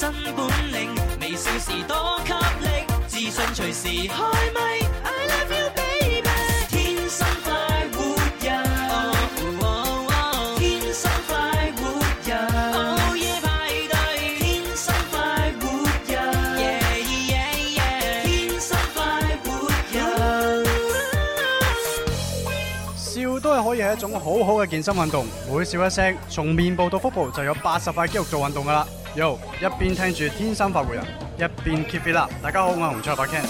新本領，微笑時多給力，自信隨時開咪。I love you baby， 天生快活人，天生快活人，午夜派對，天生快活人，天生快活人。 笑都係可以係一種好好嘅健身運動，每笑一聲，從面部到腹部就有80塊肌肉做運動㗎啦。Yo， 一邊聽住天生快活人，一邊 keep it up。大家好，我係洪卓立 Ken。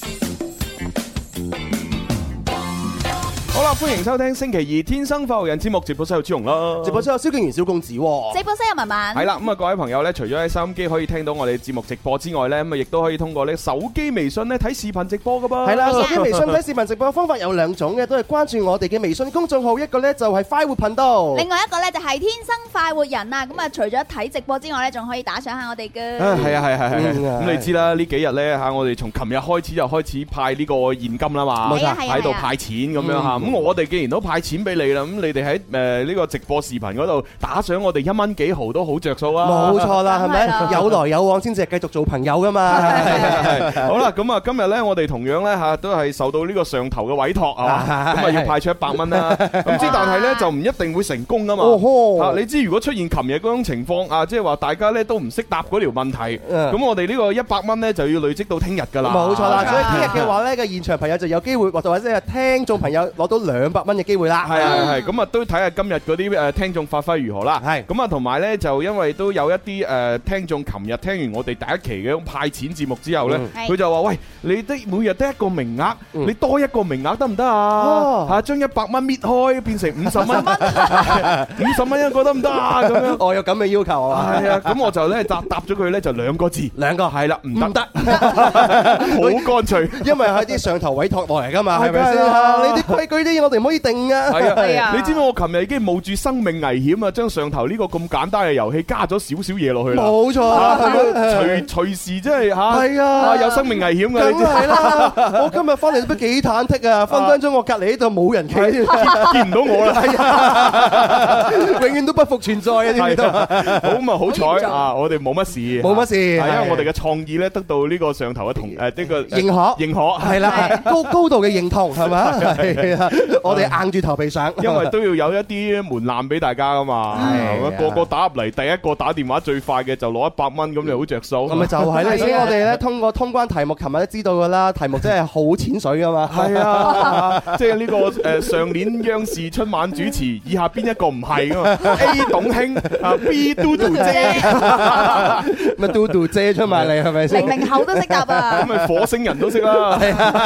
好啦，歡迎收聽星期二天生快活人節目，直播室有朱紅啦， 直播室有蕭敬元、小公子，直播室有文文。 係啦，咁啊各位朋友咧，除咗喺收音機可以聽到我哋節目直播之外咧，咁啊亦都可以通過咧手機微信咧睇視頻直播噶噃。 係啦，手機微信睇視頻直播嘅方法有兩種嘅，都係關注我哋嘅微信公眾號，一個咧就係快活頻道， 另外一個咧就係天生快活人啊！咁啊，除咗睇直播之外咧，仲可以打賞下我哋嘅。 係啊，咁你知啦，呢幾日咧嚇，我哋從琴日開始就開始派呢個現金啦嘛， 冇錯， 喺度派錢咁樣嚇。咁我哋既然都派錢俾你啦，咁你哋喺呢個直播視頻嗰度打賞我哋1蚊幾毫都好着數啊！ 冇錯啦，係咪？有來有往先至係繼續做朋友噶嘛。 好啦，咁啊今日咧，我哋同樣咧嚇都係受到呢個上頭嘅委託啊，咁啊要派出100蚊啦。咁之但係咧就唔一定會成功噶嘛。你知如果出現琴日嗰種情況啊，即係話大家咧都唔識答嗰條問題，咁我哋呢個100蚊咧就要累積到聽日㗎啦。 冇錯啦，所以聽日嘅話咧，個現場朋友就有機會，或者係聽眾朋友攞到200蚊嘅機會啦。 係，咁啊都睇下今日嗰啲聽眾發揮如何啦。係，咁啊同埋咧就因為都有一啲聽眾，琴日聽完我哋第一期嘅派錢節目之後咧，佢就話：喂，你每日得一個名額，你多一個名額得唔得啊？嚇，將100蚊搣開變成50蚊，50蚊一個得唔得啊？咁樣我有咁嘅要求啊。 係啊，咁我就咧答咗佢咧就2個字，2個係啦，唔得，好乾脆， 因為係啲上頭委託落嚟㗎嘛，係咪先？你啲規矩啲嘢我哋唔可以定啊。 係啊，你知唔知我琴日已經冒住生命危險啊，將上頭呢個咁簡單嘅遊戲加咗少少嘢落去啦。冇錯，隨時真係嚇，係啊，有生命危險㗎。 梗係啦，我今日翻嚟都幾忐忑啊，分分鐘我隔離呢度冇人企， 見唔到我啦， 永遠都不復存在啊！知唔知道？ 好咁啊，好彩啊，我哋冇乜事， 冇乜事， 係因為我哋嘅創意咧得到呢個上頭嘅呢個認可，係啦，高度嘅認同係咪？係啊，我哋硬住頭皮上， 因為都要有一啲門檻俾大家噶嘛，個個打入嚟，第一個打電話最快嘅就攞100蚊，咁你好着數。咁咪就係咧，所以我哋咧通過通關題目，琴日都知道噶啦，題目真係好淺水噶嘛。 係啊，即係呢個上年央視春晚主持，以下邊一個唔係噶嘛 ？A 董卿，B 嘟嘟姐， 咪嘟嘟姐出埋嚟係咪先 ？00後都識答啊！ 咁咪火星人都識啦，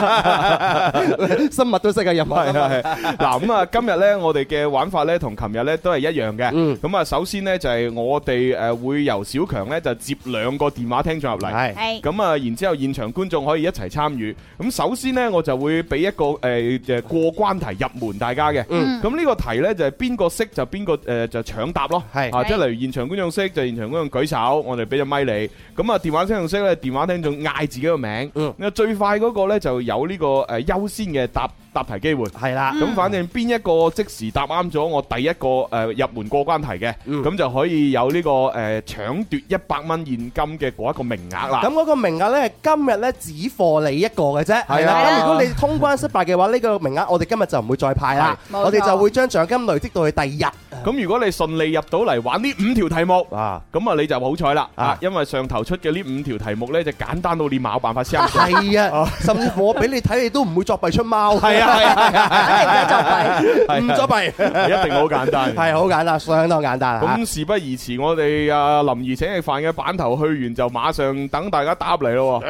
生物都識啊，入埋。 嗱咁啊，今日咧我哋嘅玩法咧同琴日咧都係一樣嘅。咁啊，首先咧就係我哋會由小強咧就接2個電話聽眾入嚟。係。咁啊，然之後現場觀眾可以一齊參與。咁首先咧我就會俾一個過關題入門大家嘅。咁呢個題咧就係邊個識就邊個就搶答咯。係。即係例如現場觀眾識就現場觀眾舉手，我哋俾隻咪你。咁啊電話聽眾識咧，電話聽眾嗌自己個名。最快嗰個咧就有呢個優先嘅答題機會。係啦。咁反正邊一個即時答啱咗我第一個入門過關題嘅，咁就可以有呢個搶奪100蚊現金嘅嗰一個名額啦。 咁嗰個名額咧，今日咧只貨你一個嘅啫。係啦。咁如果你通關失敗嘅話，呢個名額我哋今日就唔會再派啦。我哋就會將獎金累積到去第2日。 咁如果你順利入到嚟玩呢5條題目啊，咁啊你就好彩啦啊！因為上頭出嘅呢5條題目咧就簡單到你冇辦法相信。 係啊，甚至乎我俾你睇，你都唔會作弊出貓。係啊，唔作弊， 一定好簡單。 係好簡單，相當簡單。 咁事不宜遲，我哋啊林兒請食飯嘅版頭去完就馬上等大家答嚟咯。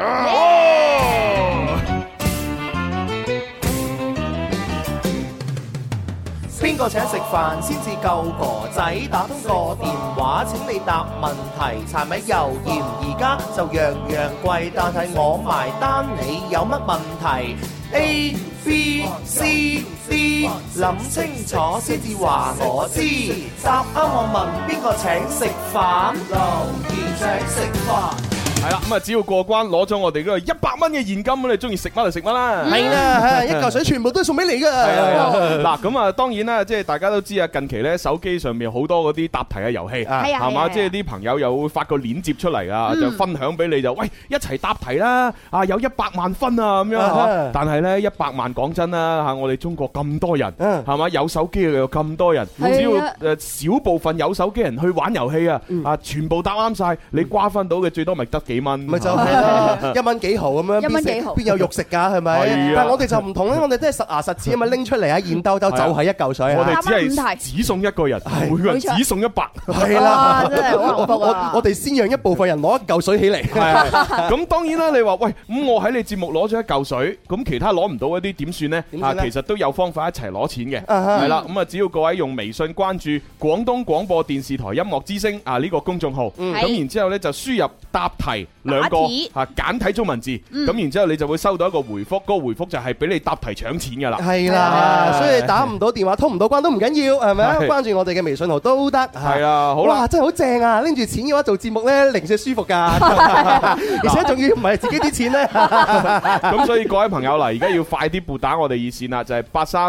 邊個請食飯先至夠哥仔？打通個電話請你答問題。柴米油鹽而家就樣樣貴，但係我埋單，你有乜問題？A B C D， 諗清楚先至話我知。答啱我問邊個請食飯？留言請食飯。 係啦，咁啊只要過關攞咗我哋嗰個100蚊嘅現金，咁你中意食乜就食乜啦。 係啦，一嚿水全部都係送俾你噶。 嗱，咁啊當然啦，即係大家都知啊，近期咧手機上面好多嗰啲答題嘅遊戲，係嘛，即係啲朋友又會發個鏈接出嚟啊，就分享俾你就，喂，一齊答題啦，啊有100萬分啊咁樣。但係咧100萬講真啦嚇，我哋中國咁多人，係嘛，有手機又有咁多人，只要少部分有手機人去玩遊戲啊，全部答啱晒，你瓜分到嘅最多咪得幾蚊？咪就係啦，1蚊幾毫咁樣， 1蚊幾毫， 邊有肉食㗎？係咪？但係我哋就唔同咧，我哋都係實牙實齒咁樣拎出嚟啊，現兜兜就係一嚿水。 我哋只係只送一個人，每個人只送100。 係啦，真係好幸福啊！我哋先讓一部分人攞一嚿水起嚟。 咁當然啦，你話喂，咁我喺你節目攞咗一嚿水，咁其他攞唔到嗰啲點算呢？其實都有方法一齊攞錢嘅。係啦，咁啊只要各位用微信關注廣東廣播電視台音樂之聲呢個公眾號，咁然之後呢就輸入答題2個簡體中文字，咁然之後你就會收到一個回覆，嗰個回覆就係俾你答題搶錢噶啦。 係啦，所以打唔到電話通唔到關都唔緊要，係咪啊？關注我哋嘅微信號都得。 係啊，好啦， 哇，真係好正啊！拎住錢嘅話做節目呢，零舍舒服噶，而且仲要唔係自己啲錢呢。 咁所以各位朋友啦，而家要快啲撥打我哋熱線啦，就係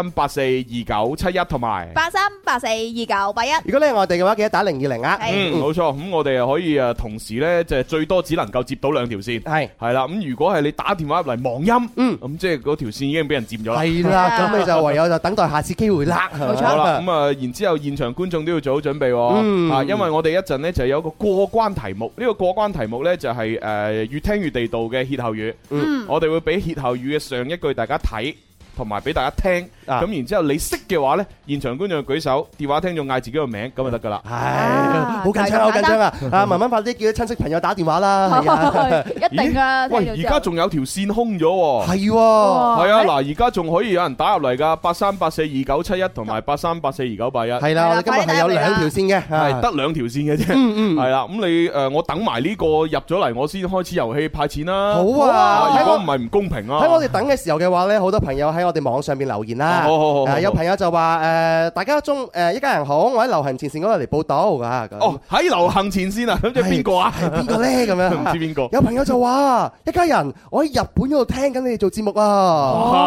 83842971同埋 83842981。 如果你係外地嘅話，記得打020啊。 冇錯。咁我哋又可以同時呢，就係最多只能夠接到2條線。係啦。咁如果係你打電話入嚟忙音，咁即係嗰條線已經俾人佔咗啦。係啦， 咁你就唯有就等待下次機會啦。 冇錯啦。咁啊，然之後現場觀眾都要做好準備喎。因為我哋一陣呢就有一個過關題目，呢個過關題目呢就係越聽越地道嘅歇後語。我哋會俾歇後語嘅上一句大家睇，同埋俾大家聽，咁然之後你識嘅話咧，現場觀眾舉手，電話聽眾嗌自己個名，咁就得噶啦。 係，好緊張，好緊張啊！啊，慢慢快啲叫啲親戚朋友打電話啦。 一定啊！ 喂，而家仲有條線空咗喎。 係喎， 係啊，嗱，而家仲可以有人打入嚟噶，83842971同埋83842981。 係啦，我哋今日係有2條線嘅， 係得2條線嘅啫。係啦，咁你我等埋呢個入咗嚟，我先開始遊戲派錢啦。 好啊， 如果唔係唔公平啊。 喺我哋等嘅時候嘅話咧，好多朋友喺我哋網上邊留言啦。好，有朋友就話大家一家人好，我喺流行前線嗰度嚟報道㗎。 哦，喺流行前線啊，咁即係邊個啊？ 係邊個咧？咁樣唔知邊個。 有朋友就話一家人，我喺日本嗰度聽緊你哋做節目啊！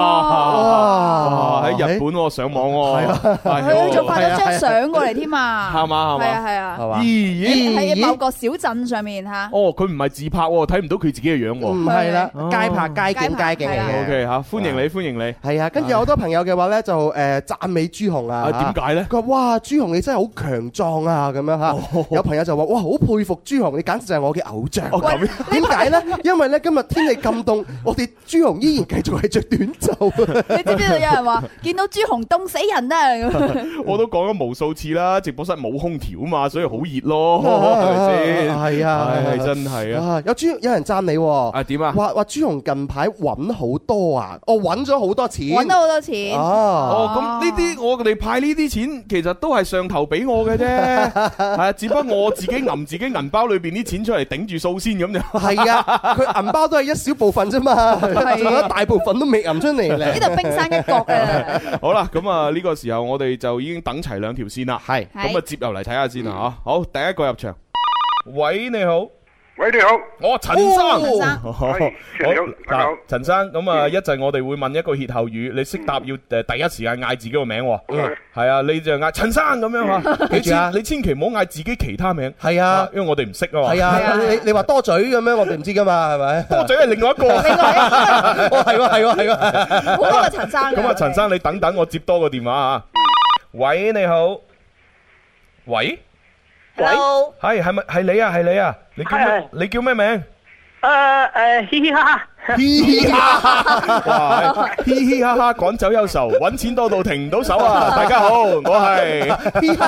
哇！喺日本上網喎， 佢仲發咗張相過嚟添啊！ 係嘛？ 係啊！ 咦？ 喺某個小鎮上面嚇。 哦，佢唔係自拍喎，睇唔到佢自己嘅樣喎。 唔係啦，街拍街景嚟嘅。 OK 嚇，歡迎你，歡迎你。 係啊，跟住有好多朋友嘅話咧，就讚美朱紅啊。 點解咧？ 佢話：哇，朱紅你真係好強壯啊！咁樣嚇。有朋友就話：哇，好佩服朱紅，你簡直就係我嘅偶像。點解咧？因為咧今日天氣咁凍，我哋朱紅依然繼續係着短袖。 你知唔知道有人話見到朱紅凍死人啊？ 我都講咗無數次啦，直播室冇空調啊嘛，所以好熱咯，係咪先？ 係啊， 係真係啊！ 有人讚你喎。 點啊？ 話朱紅近排揾好多啊！我揾咗好多錢， 揾咗好多錢。 咁呢啲我哋派呢啲錢，其實都係上頭俾我嘅啫。係啊，只不過我自己揞自己銀包裏邊啲錢出嚟頂住數先咁就。 係啊，佢銀包都係一小部分啫嘛，仲有大部分都未揞出嚟咧。 呢度冰山一角啊！ 好啦，咁啊呢個時候我哋就已經等齊2條線啦。係，咁啊接入嚟睇下先啊嚇。好，第一個入場。喂，你好。 喂，你好， 我陳生。 陳生，大家好。 陳生，咁啊一陣我哋會問一個歇後語，你識答要第一時間嗌自己個名。係啊，你就嗌陳生咁樣嚇。記住啊，你千祈唔好嗌自己其他名。係啊，因為我哋唔識啊嘛。 係啊，你話多嘴咁樣，我哋唔知噶嘛，係咪？ 多嘴係另外一個。 係喎。 好多個陳生。 咁啊，陳生你等等，我接多個電話啊。喂，你好。喂。 Hello， 係咪係你啊？係你啊？你叫咩名？ 嘻嘻哈哈， 嘻嘻哈哈，哇！嘻嘻哈哈趕走憂愁，揾錢多到停唔到手啊！大家好，我係嘻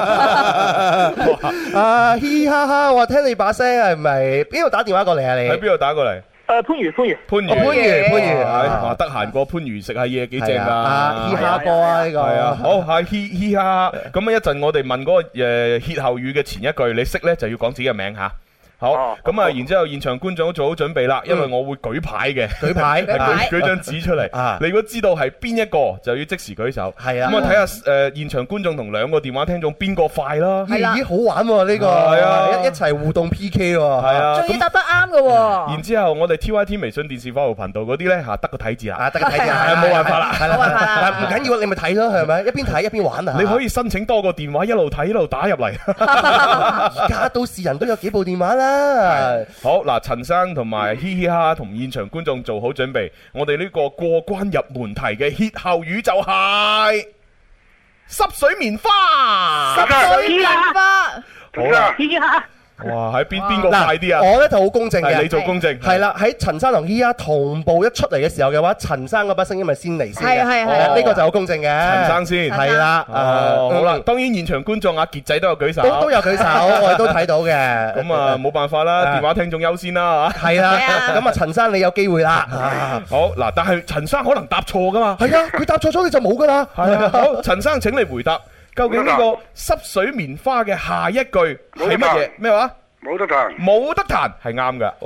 哈，嘻嘻哈哈，我聽你把聲係咪邊度打電話過嚟啊？你喺邊度打過嚟？ 番禺， 話得閒過番禺食下嘢幾正噶， 嘻哈波啊呢個係啊，好係嘻哈哈，咁啊一陣我哋問嗰個歇後語嘅前一句，你識咧就要講自己嘅名吓。 好，咁啊，然之後現場觀眾都做好準備啦，因為我會舉牌嘅，舉張紙出嚟。你如果知道係邊一個，就要即時舉手。係啊，咁啊睇下現場觀眾同兩個電話聽眾邊個快啦。 係啦，好玩喎呢個，係啊，一齊互動 PK 喎。係啊， 仲要答得啱嘅喎。然之後我哋 TYT 微信電視服務頻道嗰啲咧得個睇字啦， 得個睇字， 冇辦法啦， 冇辦法啦。唔緊要，你咪睇咯，係咪？一邊睇一邊玩啊！ 你可以申請多個電話，一路睇一路打入嚟。 而家都市人都有幾部電話啦。 好嗱，陳生同埋嘻嘻哈同現場觀眾做好準備，我哋呢個過關入門題嘅歇後語就係濕水棉花。 濕水棉花， 好啦，嘻嘻哈。哇！喺邊個快啲啊？ 我咧就好公正嘅， 你做公正。係啦，喺陳生同依家同步一出嚟嘅時候嘅話，陳生嗰把聲音咪先嚟先嘅。係呢個就好公正嘅。 陳生先係啦。好啦，當然現場觀眾阿傑仔都有舉手， 都有舉手，我哋都睇到嘅。 咁啊冇辦法啦，電話聽眾優先啦嚇。 係啦，咁啊陳生你有機會啦。 好嗱，但係陳生可能答錯噶嘛。 係啊，佢答錯咗你就冇噶啦。 係啊，好，陳生請你回答。究竟呢個濕水棉花嘅下一句係乜嘢？咩話？ 冇得彈， 冇得彈係啱㗎。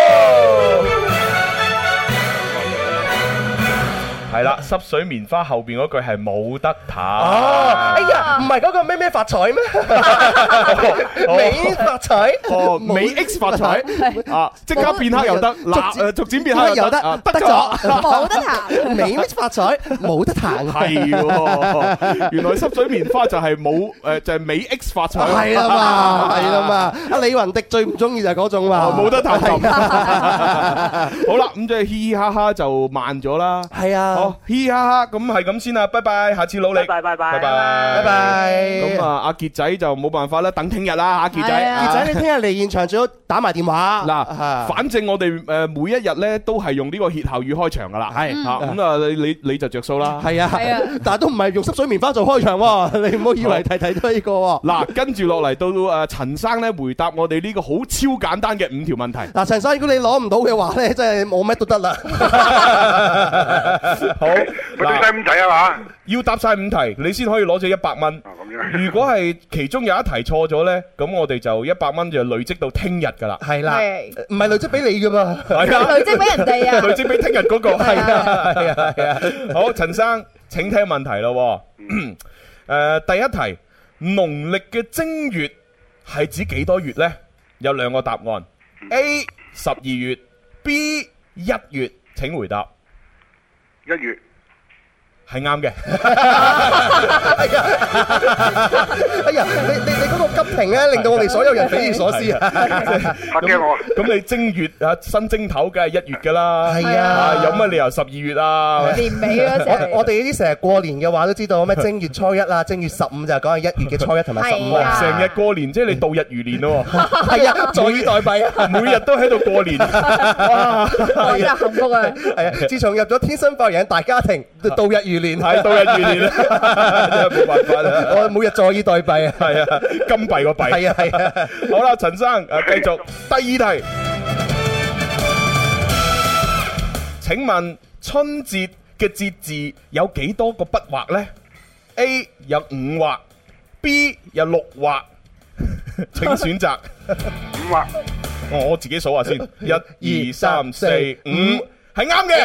係啦，濕水棉花後邊嗰句係冇得彈。 哎呀，唔係嗰個咩發財咩？美發財， 美 X 發財啊！即刻變黑又得，逐漸變黑又得，得咗， 冇得彈。 美 X 發財，冇得彈。 係，原來濕水棉花就係冇就係美 X 發財。 係啦嘛，係啦嘛。阿李雲迪最唔中意就係嗰種嘛， 冇得彈。好啦，咁即係嘻嘻哈哈就慢咗啦。 係啊。 好，嘻嘻哈哈，咁係咁先啦，拜拜，下次努力， 拜拜， 拜拜， 拜拜。 咁啊，阿傑仔就冇辦法啦，等聽日啦，傑仔， 傑仔你聽日嚟現場最好打埋電話。 嗱，反正我哋每一日咧都係用呢個歇後語開場噶啦，係吓，咁啊你就着數啦， 係啊，但係都唔係用濕水棉花做開場喎，你唔好以為睇到呢個。 嗱，跟住落嚟到陳生咧回答我哋呢個好超簡單嘅5條問題。 嗱，陳生如果你攞唔到嘅話咧，真係冇乜都得啦。 好， 我答晒5題啊嘛， 要答晒5題，你先可以攞咗100蚊。如果係其中有一題錯咗咧，咁我哋就100蚊就累積到聽日噶啦。係啦， 唔係累積俾你噶嘛？ 係啊， 累積俾人哋啊， 累積俾聽日嗰個。係啊，係啊。好，陳生，請聽問題咯。第一題，農曆嘅正月係指幾多月咧？有2個答案 ：A 12月 ，B 1月。請回答。 1月係啱嘅。 哎呀，你嗰個急停咧，令到我哋所有人匪夷所思啊！ 嚇驚我。 咁你正月啊，新正頭梗係1月噶啦。 係啊， 有乜理由12月啊？ 年尾嗰時， 我哋呢啲成日過年嘅話都知道咩？正月初一啊，正月15就係講係1月嘅初一同埋15啊。 成日過年，即係你度日如年咯。 係啊，坐以待斃啊！ 每日都喺度過年。哇！ 真係幸福啊！ 係啊，自從入咗天生發人大家庭，度日如年， 係度日如年啦，真係冇辦法啦。 我每日坐以待斃啊， 係啊，金幣個幣。 係啊係啊。 好啦，陳生繼續第2題。請問春節嘅節字有幾多個筆畫呢？ A 有5畫 ，B 有6畫，請選擇。 5畫。 我自己數下先，1、2、3、4、5，係啱嘅。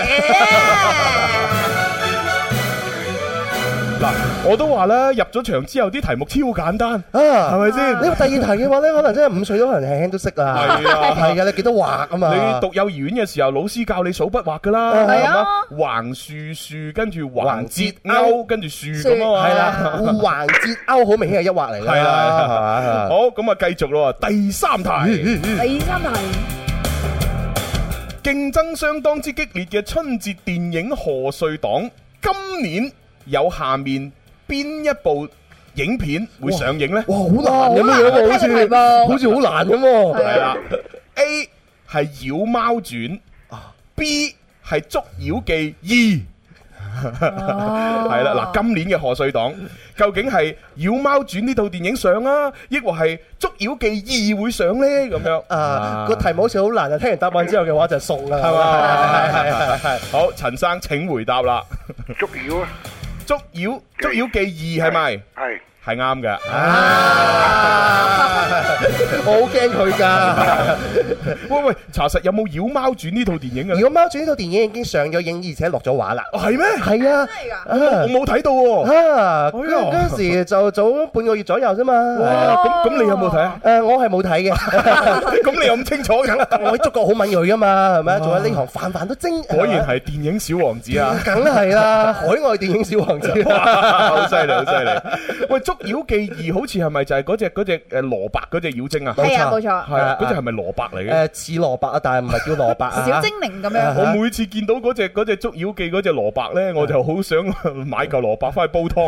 嗱，我都話啦，入咗場之後啲題目超簡單，係咪先？ 呢個第2題嘅話咧，可能真係5歲都可能輕輕都識啦。係啊，係啊，你幾多畫啊嘛？ 你讀幼兒園嘅時候，老師教你數筆畫噶啦，係啊，橫豎豎，跟住橫折勾，跟住豎咁啊嘛。 係啦，橫折勾好明顯係1畫嚟㗎。係啦，好，咁啊繼續咯，第3題。 第3題。 競爭相當之激烈嘅春節電影賀歲檔，今年有下面邊一部影片會上映呢？ 哇，好難咁樣喎，好似好難咁喎。 係啦，A 係《妖貓傳》，B 係《捉妖記2》。係啦，嗱，今年嘅賀歲檔究竟係《妖貓傳》呢套電影上啊，抑或係《捉妖記2》會上呢？咁樣個題目好似好難啊！聽完答案之後嘅話就熟啦， 係嘛？係。好，陳生請回答啦。 捉妖啊！ 捉妖記2係咪？ 係啱嘅。 我好驚佢㗎。 喂，查實有冇《妖貓傳》呢套電影啊？ 《妖貓傳》呢套電影已經上咗映，而且落咗畫啦。 係咩？ 係啊， 我冇睇到喎。 嗰陣時就早半個月左右啫嘛。 哇！咁你有冇睇啊？ 我係冇睇嘅。 咁你有咁清楚嘅？ 我觸覺好敏鋭㗎嘛，係咪？做喺呢行飯都精。 果然係電影小王子啊！ 梗係啦，海外電影小王子。 好犀利，好犀利！喂，《捉妖記2》好似係咪就係嗰隻蘿蔔嗰隻妖精啊？ 係啊，冇錯。 係啊，嗰隻係咪蘿蔔嚟嘅？ 似蘿蔔啊，但係唔係叫蘿蔔啊。 小精靈咁樣。 我每次見到嗰隻捉妖記嗰隻蘿蔔咧，我就好想買嚿蘿蔔翻去煲湯，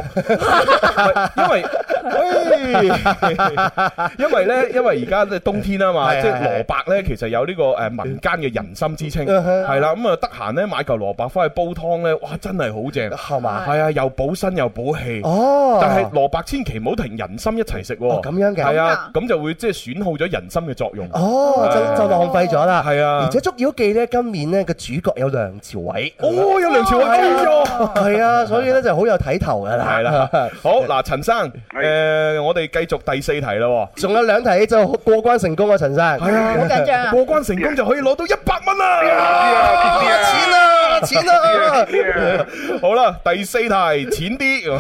因為而家即係冬天啊嘛，即係蘿蔔咧其實有呢個民間嘅人參之稱，係啦，咁啊得閒咧買嚿蘿蔔翻去煲湯咧，哇真係好正，係嘛？係啊，又補身又補氣。哦，但係蘿蔔千祈唔好同人參一齊食喎。 咁樣嘅。 係啊，咁就會即係損耗咗人參嘅作用。 哦，就浪費咗啦。 係啊， 而且《捉妖記》咧今年咧個主角有梁朝偉。 哦，有梁朝偉。 係啊，所以咧就好有睇頭噶啦。 係啦，好嗱，陳生，我哋繼續第4題啦。 仲有2題就過關成功啊，陳生。 係啊， 好緊張啊！ 過關成功就可以攞到100蚊啦！錢啊！好啦，第4題淺啲，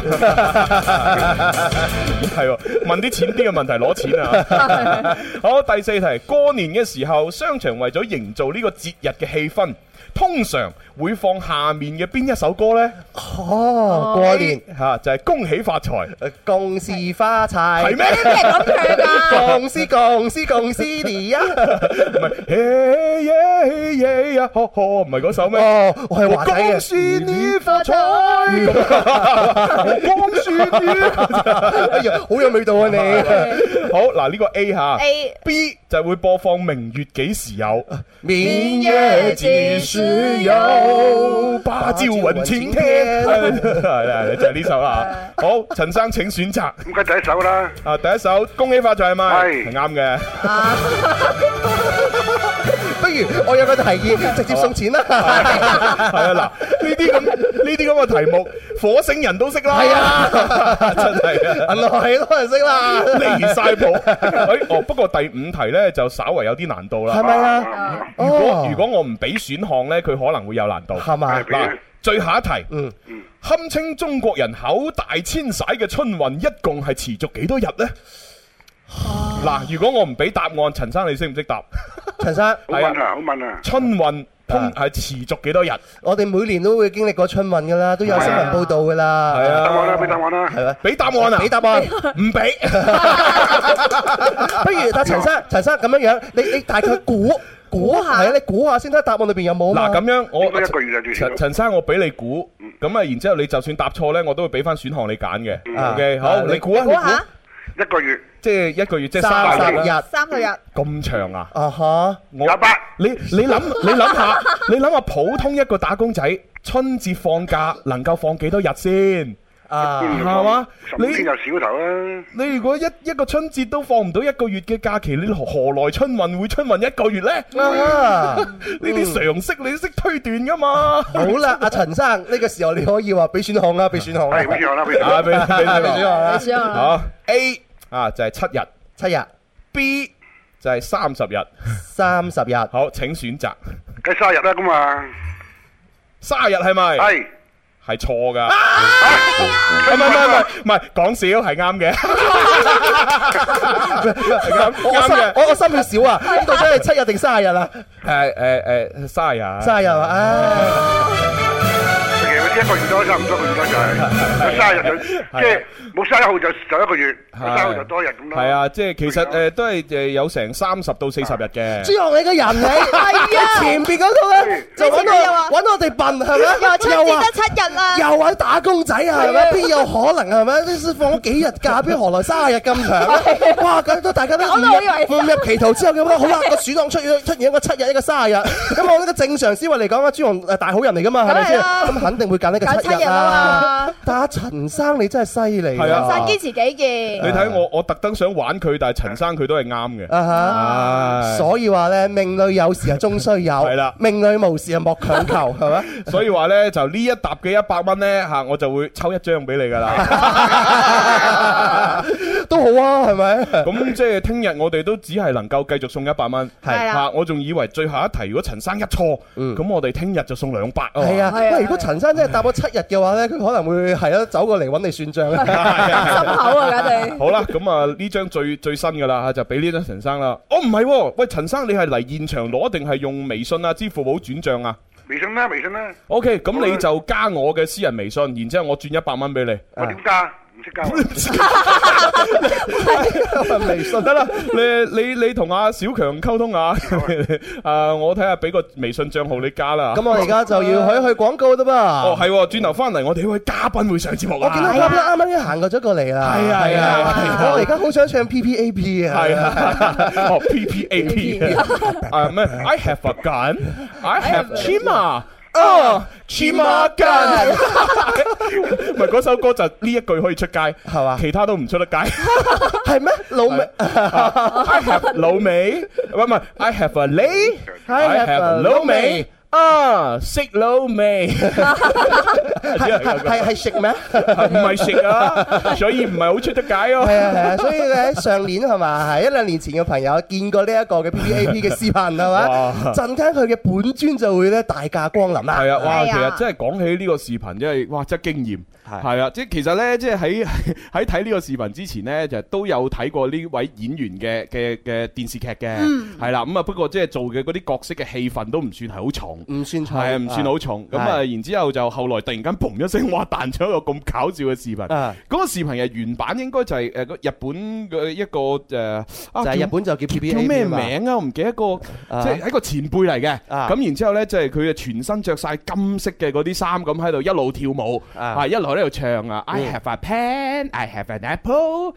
係問啲淺啲嘅問題攞錢啊！好，第4題，過年嘅時候，商場為咗營造呢個節日嘅氣氛，通常會放下面嘅邊一首歌呢？ 哦，過年就係恭喜發財， 恭喜發財， 係咩？ 咩咁唱噶？ 恭喜你啊！ 唔係，嘿耶耶呀，呵呵，唔係嗰首咩？ 哦，我係華仔嘅。 恭喜你發財，恭喜你， 哎呀，好有味道啊你！ 好嗱，呢個 A 吓 ，B 就會播放明月幾時有， 明月幾時有， 芭蕉雲晴天，係就係呢首啦。好，陳生請選擇。 咁梗係第一首啦。 第一首恭喜發財係咪？ 係啱嘅。 不如我有個提議，直接送錢啦。 係啊，嗱，呢啲咁嘅題目，火星人都識啦。係啊，真係啊， 銀河系多人識啦， 離晒譜。不過第5題咧就稍為有啲難度啦。 係咪啊？ 如果我唔俾選項咧，佢可能會有難度。 係嘛？ 嗱，最後一題，堪稱中國人口大遷徙嘅春運，一共係持續幾多日呢？嗱，如果我唔俾答案，陳生你識唔識答？ 陳生， 好問啊！ 春運係持續幾多日？ 我哋每年都會經歷過春運噶啦，都有新聞報道噶啦。 係啊， 答案啦，俾答案啦， 係咪？俾答案啊！ 俾答案， 唔俾。 不如但陳生咁樣樣，你大概估下，係啊，你估下先睇答案裏邊有冇。 嗱，咁樣我一個月就陳生，我俾你估，咁啊，然之後你就算答錯咧，我都會俾翻選項你揀嘅。OK，好，你估啊，你估。 一個月， 即係一個月，即係 30日 ，3個月， 咁長啊？ 啊哈！ 你諗下，普通一個打工仔春節放假能夠放幾多日先？係嘛？ 你15天就少頭啦。 你如果一個春節都放唔到1個月嘅假期，你何來春運會春運1個月呢？呢啲常識你都識推斷噶嘛？ 好啦，阿陳生，呢個時候你可以話俾選項啦，俾選項啦。 係俾選項啦，俾選項啦。 好 A 就係7日，B 就係30日。好，請選擇。 梗係30日啦，咁啊 ，30日係咪？係錯噶，唔係講笑，係啱嘅，啱嘅。 我心血少啊，呢度真係7日定30日啊 ？30日 ，30日啊！ 其實1個月多，差唔多個月多就係30日就即係冇31號就1個月，31號就多日咁咯。 係啊，即係其實都係有成30到40日嘅。 朱紅你個人你係啊，前邊嗰度咧就揾我哋笨係咪？ 又話春節得7日啦， 又話打工仔啊係咪？邊有可能係咪？啲放咗幾日假，邊何來30日咁長咧？哇！咁都大家都誤入歧途之後咁好啦，個選項出現一個7日，一個30日。咁我呢個正常思維嚟講啊，朱紅大好人嚟噶嘛，係咪先？咁肯定會揀揀呢個7日啊！但係陳生你真係犀利， 係啊， 陳生堅持己見。 你睇我特登想玩佢，但係陳生佢都係啱嘅。 所以話咧，命裏有時啊終須有，係啦，命裏無時啊莫強求，係咪？ 所以話咧，就呢一沓嘅100蚊咧嚇，我就會抽一張俾你㗎啦。 都好啊，係咪？ 咁即係聽日我哋都只係能夠繼續送100蚊， 係嚇。我仲以為最後一題如果陳生一錯，咁我哋聽日就送200。 係啊，喂！如果陳生真係答咗7日嘅話咧，佢可能會係咯走過嚟揾你算賬啊， 心口啊，家哋。 好啦，咁啊呢張最新㗎啦，就俾呢張陳生啦。哦，唔係喎，喂，陳生你係嚟現場攞定係用微信啊、支付寶轉賬啊？ 微信啦，微信啦。 OK，咁你就加我嘅私人微信，然之後我轉100蚊俾你。 我點加？唔識加。 微信得啦，你同阿小強溝通下，我睇下俾個微信賬號你加啦。 咁我而家就要去廣告啦噃。 哦，係，轉頭翻嚟我哋呢位嘉賓會上節目啊。 我見到嘉賓啱啱已經行過咗過嚟啦。係啊係啊，我而家好想唱 PPAP 啊。係啊， 哦 PPAP，咩 ？I have a gun, I have Chima。Chima gun， 唔係嗰首歌就呢一句可以出街，係嘛？其他都唔出得街， 係咩？老味 ，I have 老味，唔係 I have a 你 ，I have 老味。食老味， 係食咩？ 唔係食啊，所以唔係好出得街咯。 係啊，所以咧上年係嘛，係1-2年前嘅朋友見過呢一個嘅 PPAP 嘅視頻係嘛，陣間佢嘅本尊就會咧大駕光臨啦。 係啊，哇！其實真係講起呢個視頻，真係哇，真係驚豔。係啊，即係其實咧，即係喺睇呢個視頻之前咧，就都有睇過呢位演員嘅電視劇嘅，係啦。咁啊，不過即係做嘅嗰啲角色嘅戲份都唔算係好重， 唔算重， 係唔算好重。咁啊，然之後就後來突然間嘣一聲，哇彈咗一個咁搞笑嘅視頻。嗰個視頻嘅原版應該就係日本嘅一個就係日本就叫 PPAP 叫咩名啊？我唔記得個，即係一個前輩嚟嘅。咁然之後咧，即係佢啊全身着晒金色嘅嗰啲衫，咁喺度一路跳舞，一路喺度唱啊 ！I have a pen, I have an apple，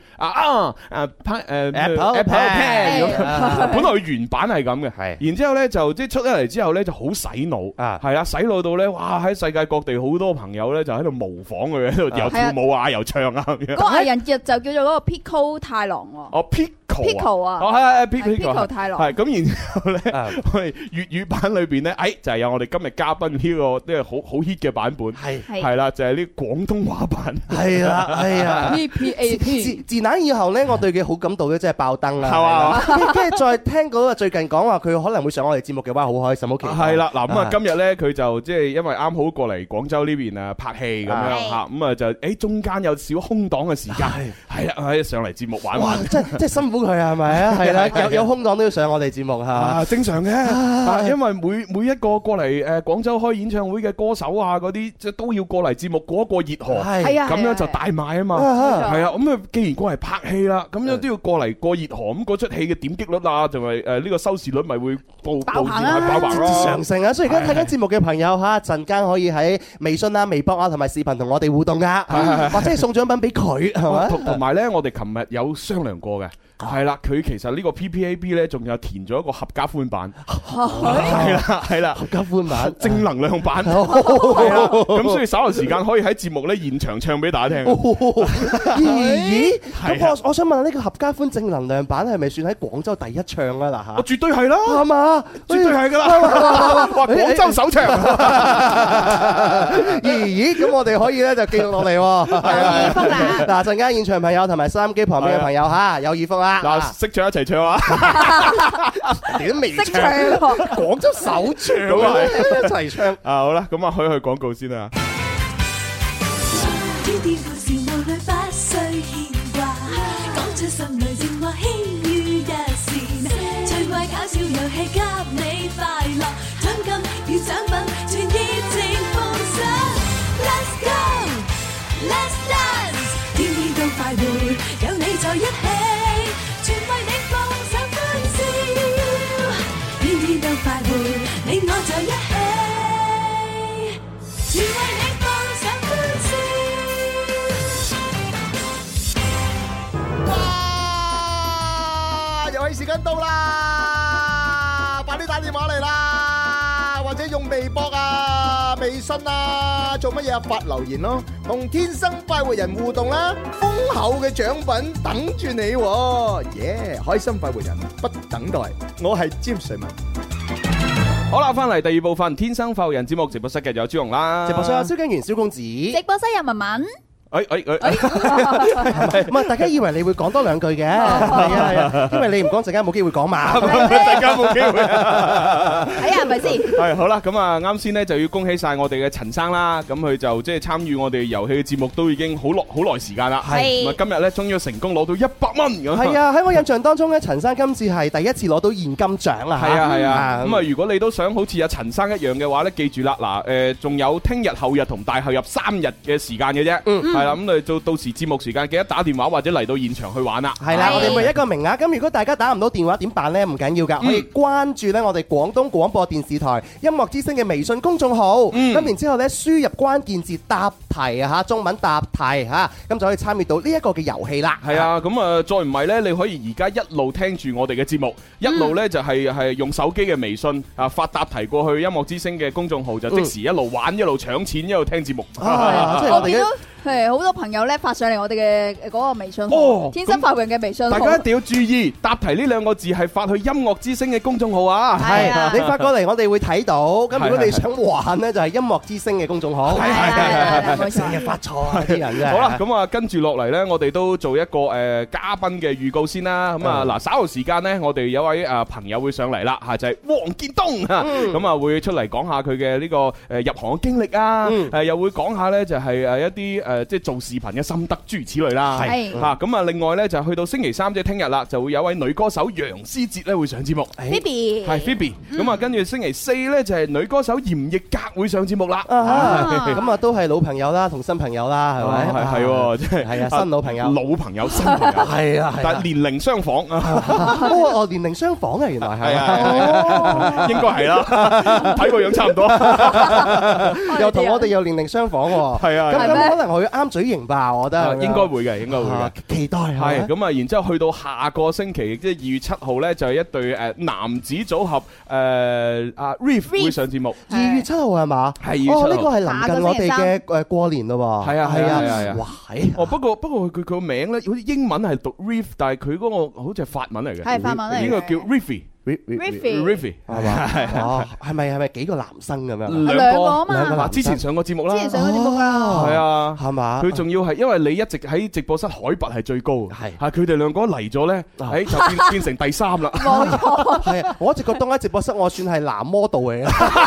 apple pen 咁。本來佢原版係咁嘅，然之後咧就即係出咗嚟之後咧就好洗腦，係啦，洗腦到咧哇喺世界各地好多朋友咧就喺度模仿佢，喺度又跳舞啊又唱啊咁樣。 嗰個藝人就叫做嗰個 Pico 太郎喎。 哦 Pico 啊， 係 Pico 太郎。 係咁，然之後咧我哋粵語版裏邊咧，就係有我哋今日嘉賓呢個即係好 hit 嘅版本，係啦，就係呢廣東話版。 係啦，係啊 PPAP 自那以後咧，我對佢好感度咧真係爆燈啦，係嘛？跟住再聽嗰個最近講話佢可能會上我哋節目嘅話，好開心，好期待。 係啦，嗱咁啊，今日咧佢就即係因為啱好過嚟廣州呢邊啊拍戲咁樣嚇，咁啊就中間有少空檔嘅時間，係啦，喺上嚟節目玩玩， 即係辛苦佢係咪啊？係啦，有空檔都要上我哋節目嚇， 正常嘅，因為每一個過嚟廣州開演唱會嘅歌手啊嗰啲，即係都要過嚟節目過一個熱河，咁樣就大賣啊嘛，係啊，咁啊既然過嚟拍戲啦，咁樣都要過嚟過熱河，咁嗰出戲嘅點擊率啊，同埋呢個收視率咪會爆棚咯， 上升啊！所以而家睇緊節目嘅朋友嚇，陣間可以喺微信啊、微博啊同埋視頻同我哋互動噶，或者係送獎品俾佢係嘛？ 同埋咧，我哋琴日有商量過嘅。係啦，佢其實呢個 PPAP 咧，仲有填咗一個合家歡版，係啦， 合家歡版， 正能量版，咁所以稍後時間可以喺節目咧現場唱俾大家聽。 咦？咁我想問呢個合家歡正能量版係咪算喺廣州第一唱啊？嗱嚇， 我絕對係啦， 係嘛？ 絕對係㗎啦，哇！廣州首唱。 咦？咁我哋可以咧就記錄落嚟喎。 有耳福啦！ 嗱，陣間現場朋友同埋收音機旁邊嘅朋友嚇，有耳福啦。 嗱，識唱一齊唱啊！ 你都未唱，廣州首唱一齊唱啊！好啦，咁啊，去廣告先啦。 天天故事無慮不需牽掛，講出心裏情話輕於一線，趣怪搞笑遊戲給你快樂，獎金與獎品全熱情奉上。Let's go，Let's dance，天天都快活，有你在一起。全為你放上歡笑，天天都快活，你我在一起，全為你放上歡笑。 哇！遊戲時間到啦，快啲打電話嚟啦，或者用微博啊、微信信啊？做乜嘢啊？發留言咯，同天生快活人互動啦，豐厚嘅獎品等住你喎！耶！開心快活人不等待，我係詹瑞文。 好啦，翻嚟第二部分《天生快活人》節目直播室嘅有朱紅啦， 直播室有蕭敬元、蕭公子， 直播室有文文。 唔係，大家以為你會講多兩句嘅，係啊，因為你唔講陣間冇機會講嘛， 陣間冇機會。 係啊，係咪先？ 係好啦，咁啊，啱先咧就要恭喜晒我哋嘅陳生啦，咁佢就即係參與我哋遊戲嘅節目都已經好耐時間啦，係。咁啊，今日咧終於成功攞到100蚊咁。 係啊，喺我印象當中咧，陳生今次係第一次攞到現金獎啊！ 係啊，咁啊，如果你都想好似阿陳生一樣嘅話咧，記住啦，嗱，仲有聽日、後日同大後日3日嘅時間嘅啫。係啦，咁你到時節目時間記得打電話或者嚟到現場去玩啦。 係啦，我哋每一個名額。咁如果大家打唔到電話點辦呢？唔緊要㗎，可以關注咧我哋廣東廣播電視台音樂之聲嘅微信公眾號。咁然之後咧輸入關鍵字答題啊嚇，中文答題嚇，咁就可以參與到呢一個嘅遊戲啦。 係啊，咁啊再唔係咧，你可以而家一路聽住我哋嘅節目，一路咧就係用手機嘅微信啊發答題過去音樂之聲嘅公眾號，就即時一路玩一路搶錢一路聽節目。 即係我哋嘅。 係好多朋友咧發上嚟我哋嘅嗰個微信號，天生快活人嘅微信號。 大家一定要注意，答題呢2個字係發去音樂之聲嘅公眾號啊！ 係，你發過嚟我哋會睇到。咁如果你想玩呢，就係音樂之聲嘅公眾號。係，成日發錯啊啲人啫。 好啦，咁啊跟住落嚟呢，我哋都做一個嘉賓嘅預告先啦。咁啊嗱，稍後時間呢，我哋有位朋友會上嚟啦，就係黃建東啊。咁啊會出嚟講下佢嘅呢個入行嘅經歷啊，又會講下呢，就係一啲即係做視頻嘅心得諸如此類啦，係嚇咁啊！另外咧就去到星期3即係聽日啦，就會有位女歌手楊思捷咧會上節目 ，Phoebe 係 Phoebe。咁啊，跟住星期4咧就係女歌手嚴藝格會上節目啦。 咁啊都係老朋友啦，同新朋友啦，係咪？ 係喎，即係係啊，新老朋友， 老朋友新朋友， 係啊， 但係年齡相仿啊。 哦，年齡相仿啊，原來係啊，應該係啦，睇個樣差唔多， 又同我哋又年齡相仿喎。係啊，咁可能佢啱嘴型吧，我覺得應該會嘅，應該會嘅， 期待係咁啊！然之後去到下個星期，即係2月7號咧，就係一對男子組合阿 Riff 會上節目。 2月7號係嘛？係2月7號。哦，呢個係臨近我哋嘅過年咯喎。係啊係啊係啊！哇！ 哦，不過佢個名咧，好似英文係讀 Riff，但係佢嗰個好似係法文嚟嘅。 係法文嚟嘅。 應該叫 Riffy。 係嘛？哦，係咪幾個男生咁樣？ 兩個啊嘛。 之前上過節目啦。 之前上過節目啦。 係啊， 係嘛？ 佢仲要係因為你一直喺直播室海拔係最高，係佢哋兩個嚟咗咧，就變成第3啦。 冇錯。 係啊，我一直覺得喺直播室我算係男 model 嚟嘅。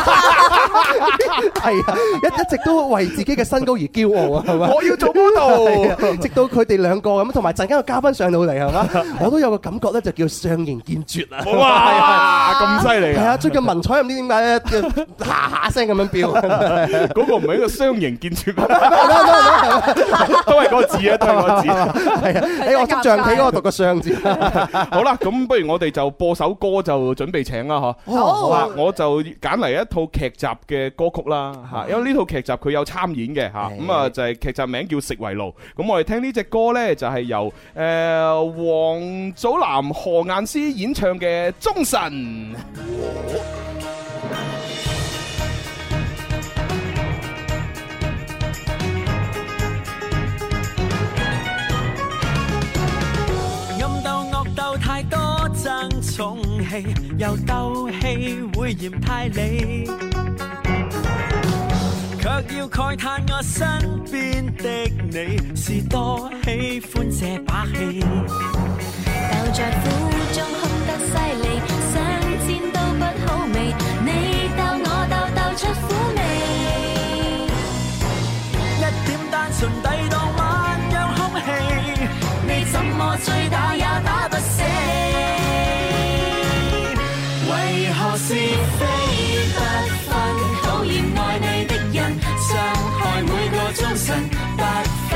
係啊，一直都為自己嘅身高而驕傲啊，係咪？ 我要做 model。 直到佢哋兩個咁，同埋陣間個嘉賓上到嚟係嘛，我都有個感覺咧，就叫相形見絀啊！ 哇，咁犀利！ 係啊，最近文采唔知點解咧，下下聲咁樣飆。 嗰個唔係一個相形見絀，都係嗰個字啊，都係嗰個字。係啊， 我捉象棋嗰個讀個相字。 好啦，咁不如我哋就播首歌就準備請啦，嗬。好，我就揀嚟一套劇集嘅歌曲啦，嚇，因為呢套劇集佢有參演嘅嚇，咁啊就係劇集名叫《食為奴》。咁我哋聽呢隻歌咧，就係由王祖藍、何雁詩演唱嘅《忠臣》。 暗鬥惡鬥太多爭寵氣，又鬥氣會嫌太理，卻要慨嘆我身邊的你是多喜歡這把戲。 鬥在苦中哭得犀利，想煎都不好味，你鬥我鬥鬥出苦味， 一點單純抵擋萬樣空氣，你怎麼追打也打不死，為何是非不分，討厭愛你的人，傷害每個終身不分，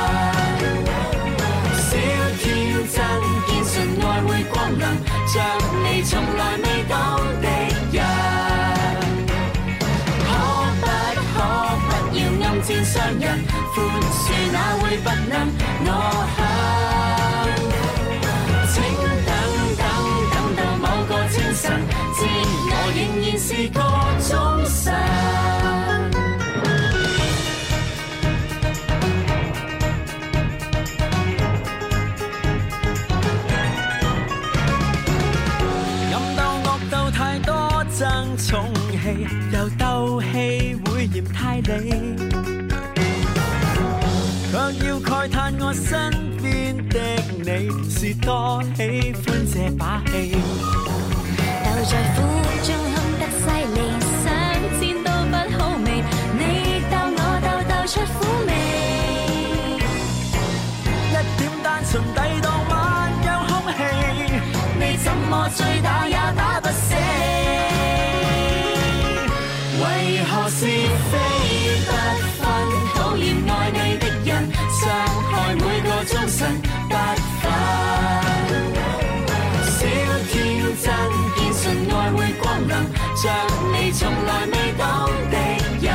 小挑戰堅信愛會光臨，像你從來未當敵人，可不要暗箭傷人，寬恕那會不能我向，請等到某個清晨，知我仍然是個忠臣。 你，卻要慨嘆我身邊的你是多喜歡這把戲。 鬥在苦中哭得犀利，想戰都不好味，你鬥我鬥出苦味， 一點單純抵擋萬樣空氣，你怎麼追打也打不死，為何是非不分，討厭愛你的人，傷害每個終身不分，小天真堅信愛會光臨，像你從來未懂的人，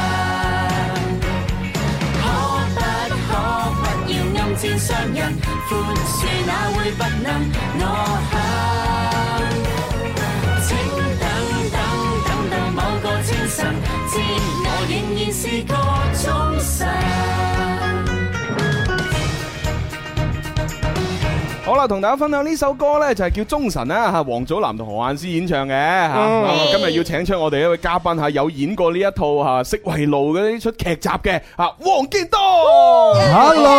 暗箭傷人，寬恕哪會不能？我想，請等到某個清晨，知我仍然是個終身。 好啦，同大家分享呢首歌呢，就係叫《忠臣》啦，嚇，王祖藍同何雁詩演唱嘅嚇。今日要請出我哋一位嘉賓嚇，有演過呢一套嚇《色為路》嘅呢出劇集嘅嚇，黃建東。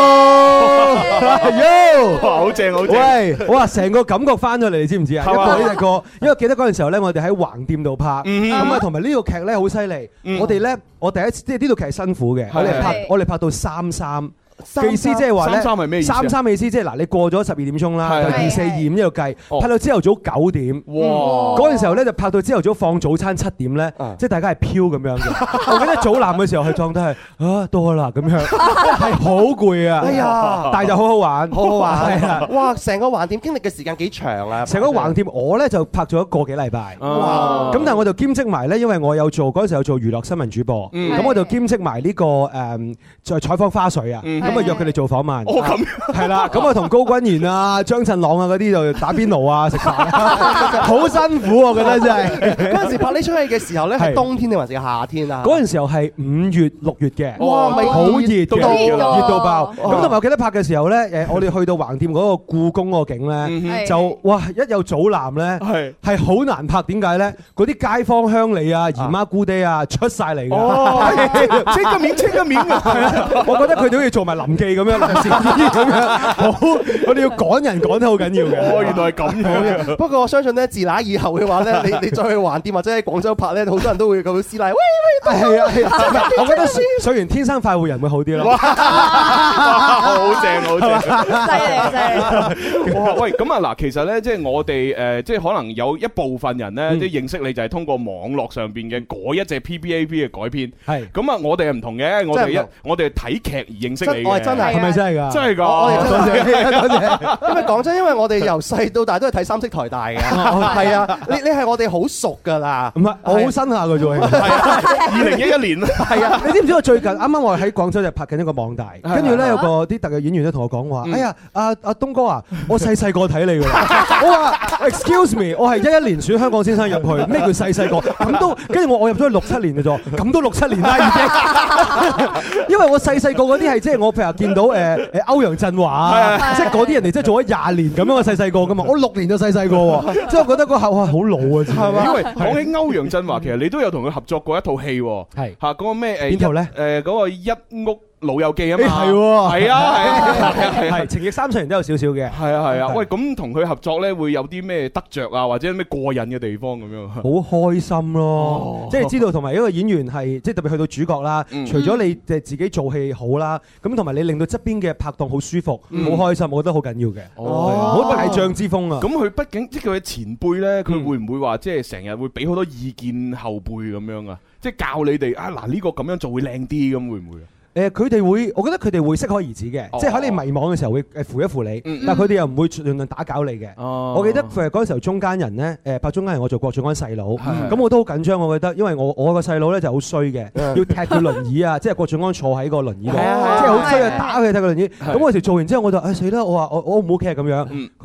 Hello， 好正好正。 喂，哇，成個感覺翻咗嚟，你知唔知啊？一個呢隻歌，因為記得嗰陣時候咧，我哋喺橫店度拍，咁啊，同埋呢個劇咧好犀利。我哋咧，我第一次即係呢套劇係辛苦嘅，我哋拍到3-3。意思即係話咧，3-3係咩意思？3-3意思即係嗱，你過咗12點鐘啦，就2、4、2咁一路計，拍到朝頭早9點。哇！嗰陣時候咧就拍到朝頭早放早餐7點咧，即係大家係飄咁樣嘅。我記得早藍嘅時候係狀態係到啦咁樣，係好攰啊！哎呀，但係就好好玩，好好玩係啊！ 哇！成個橫店經歷嘅時間幾長啊！ 成個橫店我咧就拍咗1個幾禮拜。哇！咁但係我就兼職埋咧，因為我有做嗰陣時有做娛樂新聞主播，咁我就兼職埋呢個在採訪花絮啊。咁啊約佢哋做訪問，咁係啦，咁啊同高君賢啊、張振朗啊嗰啲就打邊爐啊、食飯，好辛苦我覺得真係。 嗰陣時拍呢出戲嘅時候咧，係冬天定還是夏天啊？ 嗰陣時候係5月、6月嘅， 哇， 好熱到爆。咁同埋我記得拍嘅時候咧，我哋去到橫店嗰個故宮嗰個景咧，就哇一有祖藍咧，係好難拍。點解咧？嗰啲街坊鄉里啊、姨媽姑爹啊出晒嚟嘅， 簽個名啊！ 我覺得佢哋好似做埋臨記咁樣，臨時咁樣，好，我哋要趕人趕得好緊要嘅。 哦，原來係咁樣嘅。 不過我相信咧，自那以後嘅話咧，你再去橫店或者喺廣州拍咧，好多人都會咁師奶，喂， 係啊，我覺得水完天生快活人會好啲咯。 好正，好正， 犀利。 哇，喂，咁啊嗱，其實咧，即係我哋即係可能有一部分人咧，即係認識你就係通過網絡上邊嘅嗰一隻 PPAP 嘅改編。係。咁啊，我哋係唔同嘅，我哋係睇劇而認識你嘅。 真係， 係咪真係㗎？ 真係㗎。 多謝。因為講真，因為我哋由細到大都係睇三色台大嘅。係啊，你係我哋好熟㗎啦。 唔係，我好新下㗎啫。 係啊，2011年。 係啊，你知唔知我最近啱啱我喺廣州就拍緊一個網大，跟住咧有個啲特約演員咧同我講話，哎呀，阿東哥啊，我細個睇你㗎。我話 excuse me， 我係11年選香港先生入去，咩叫細個？咁都跟住我入咗去6-7年嘅啫，咁都6-7年啦已經。因為我細個嗰啲係即係我譬如見到歐陽震華啊，即係嗰啲人哋即係做咗20年咁樣嘅細個㗎嘛，我6年就細個喎，即係我覺得嗰下哇好老啊，係嘛？ 因為講起歐陽震華，其實你都有同佢合作過一套戲喎，係嚇嗰個咩邊套咧？ 嗰個一屋老友記啊嘛， 係喎， 係情義30年都有少少嘅， 係啊，喂，咁同佢合作咧會有啲咩得着啊，或者咩過癮嘅地方咁樣？ 好開心咯，即係知道同埋一個演員係即係特別去到主角啦，除咗你自己做戲好啦，咁同埋你令到側邊嘅拍檔好舒服、好開心，我覺得好緊要嘅，好大將之風啊！ 咁佢畢竟即係佢嘅前輩咧，佢會唔會話即係成日會俾好多意見後輩咁樣啊？即係教你哋啊嗱呢個咁樣做會靚啲咁，會唔會啊？ 佢哋會，我覺得佢哋會適可而止嘅，即係喺你迷惘嘅時候會扶一扶你，但係佢哋又唔會盡量打攪你嘅。我記得嗰陣時候中間人咧，拍中間人我做郭晉安細佬，咁我都好緊張，我覺得，因為我個細佬咧就好衰嘅，要踢佢輪椅啊，即係郭晉安坐喺個輪椅度，即係好衰啊，打佢踢個輪椅。咁我時做完之後我就死啦，我話我唔 OK 咁樣，佢話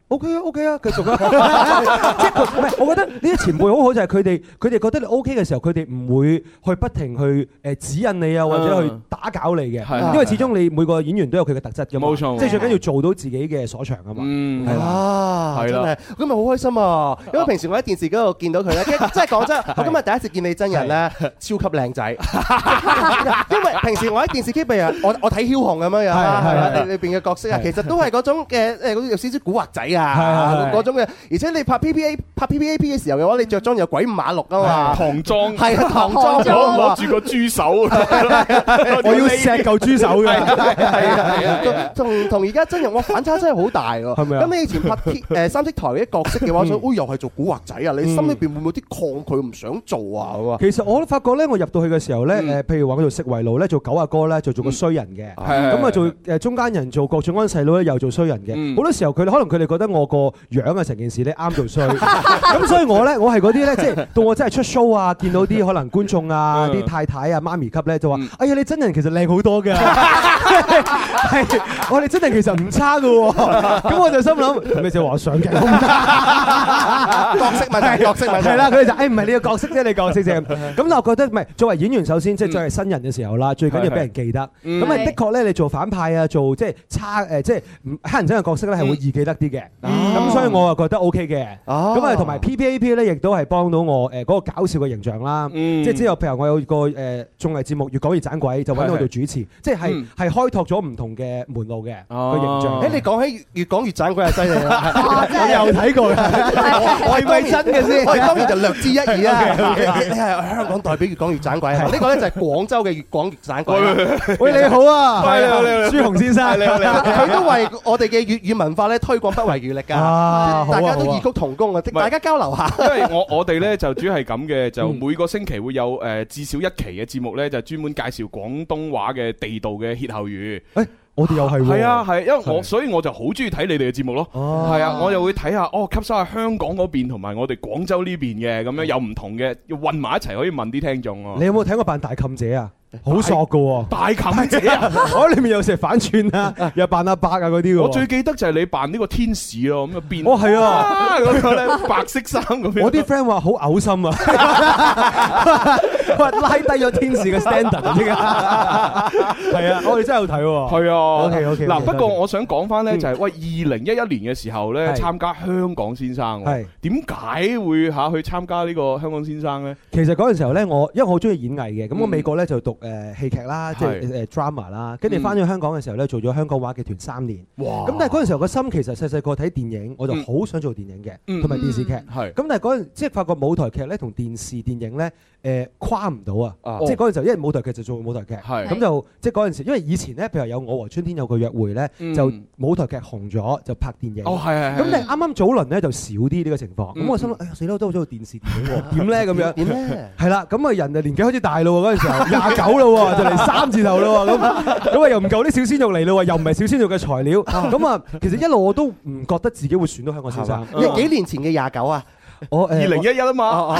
OK 啊 OK 啊，繼續啊！即係佢唔係，我覺得呢啲前輩好好就係佢哋覺得你 OK 嘅時候，佢哋唔會去不停去指引你啊，或者去打攪你嘅，因為始終你每個演員都有佢嘅特質㗎嘛。冇錯，即係最緊要做到自己嘅所長啊嘛。係啦， 係啦，咁咪好開心啊！因為平時我喺電視嗰度見到佢咧，即係講真，我今日第一次見你真人咧，超級靚仔。因為平時我喺電視機譬如我睇梟雄咁樣樣裏邊嘅角色啊，其實都係嗰種嘅有少少古惑仔啊，嗰種嘅。而且你拍 PPAP 嘅時候嘅話，你着裝又鬼五馬六啊嘛， 唐裝係啊，唐裝攞住個豬手， 我要錫嚿豬手嘅， 係啊，同而家真人，哇反差真係好大喎。係咪啊？咁你以前拍三色台嗰啲角色嘅話，想又係做古惑仔啊，你心裏邊會唔會有啲抗拒唔想做啊？ 其實我都發覺咧，我入到去嘅時候咧，譬如話我做食為奴咧，做九阿哥咧，就做個衰人嘅，咁啊做中間人做郭晉安細佬咧，又做衰人嘅。好多時候可能佢哋覺得我個樣啊成件事咧啱做衰，咁所以我係嗰啲咧，即係到我真係出 show 啊，見到啲可能觀眾啊、啲太太啊、媽咪級咧，就話：哎呀，你真人其實靚好多㗎，係我哋真人其實唔差㗎喎。咁我就心諗，咪就話上鏡角色問題係啦，佢哋就唔係你個角色啫，你角色啫。咁我覺得唔係作為演員，首先即係作為新人嘅時候啦，最緊要俾人記得。咁啊，的確咧，你做反派啊，做即係差即係黑人憎嘅角色咧，係會易記得啲嘅。咁所以我啊覺得 OK 嘅。咁啊，同埋 PPAP 咧，亦都係幫到我嗰個搞笑嘅形象啦。即係之後，譬如我有個綜藝節目越講越盞鬼，就揾我做主持，即係開拓咗唔同嘅門路嘅個形象。 你講起越講越盞鬼係犀利啦， 我有睇過嘅， 係咪真嘅先？我當然就略知一二啦。你係香港代表越講越盞鬼，呢個咧就係廣州嘅越講越盞鬼。 喂，你好啊，朱紅先生， 佢都為我哋嘅粵語文化咧推廣不遺餘力㗎。大家都異曲同工啊，大家交流下。 因為我哋咧就主要係咁嘅，就每個星期會有至少一期嘅節目咧，就專門介紹廣東話嘅地道嘅歇後語。 我哋又係喎， 係啊係，因為所以我就好中意睇你哋嘅節目咯。係啊，我又會睇下吸收下香港嗰邊同埋我哋廣州呢邊嘅，咁樣有唔同嘅，要混埋一齊可以問啲聽眾啊。 你有冇睇過扮大妗姐啊？好索噶喎！ 大妗姐啊！ 我裏面有成反串啊，又扮阿伯啊嗰啲喎。 我最記得就係你扮呢個天使咯，咁啊變。 哦係啊， 嗰個咧白色衫咁樣。 我啲 friend 話好嘔心啊，話拉低咗天使嘅 standard 啊！係啊，我哋真係有睇喎。 係啊。 OK。 嗱，不過我想講翻咧，就係喂2011年嘅時候咧，參加香港先生。係。點解會去參加呢個香港先生咧？ 其實嗰陣時候咧，因為我好中意演藝嘅，咁我美國咧就讀戲劇啦，即係drama 啦，跟住翻咗香港嘅時候咧，做咗香港話劇團3年。哇！咁但係嗰陣時候個心其實細細個睇電影，我就好想做電影嘅，同埋電視劇。係。咁但係嗰陣即係發覺舞台劇咧同電視電影咧跨唔到啊！即係嗰陣時候，因為舞台劇就做舞台劇，咁就即係嗰陣時，因為以前咧，譬如有《我和春天有個約會》咧，就舞台劇紅咗就拍電影。哦，係。咁但係啱啱早輪咧就少啲呢個情況。咁我心諗，哎呀死啦，都好中意做電視電影喎，點咧咁樣？點咧？係啦，咁啊人就年紀開始大咯喎，嗰陣時候29咯喎。就嚟3字頭咯喎，咁啊又唔夠啲小鮮肉嚟咯喎，又唔係小鮮肉嘅材料，咁啊其實一路我都唔覺得自己會選到香港先生。 幾年前嘅29啊？ 我2011啊嘛。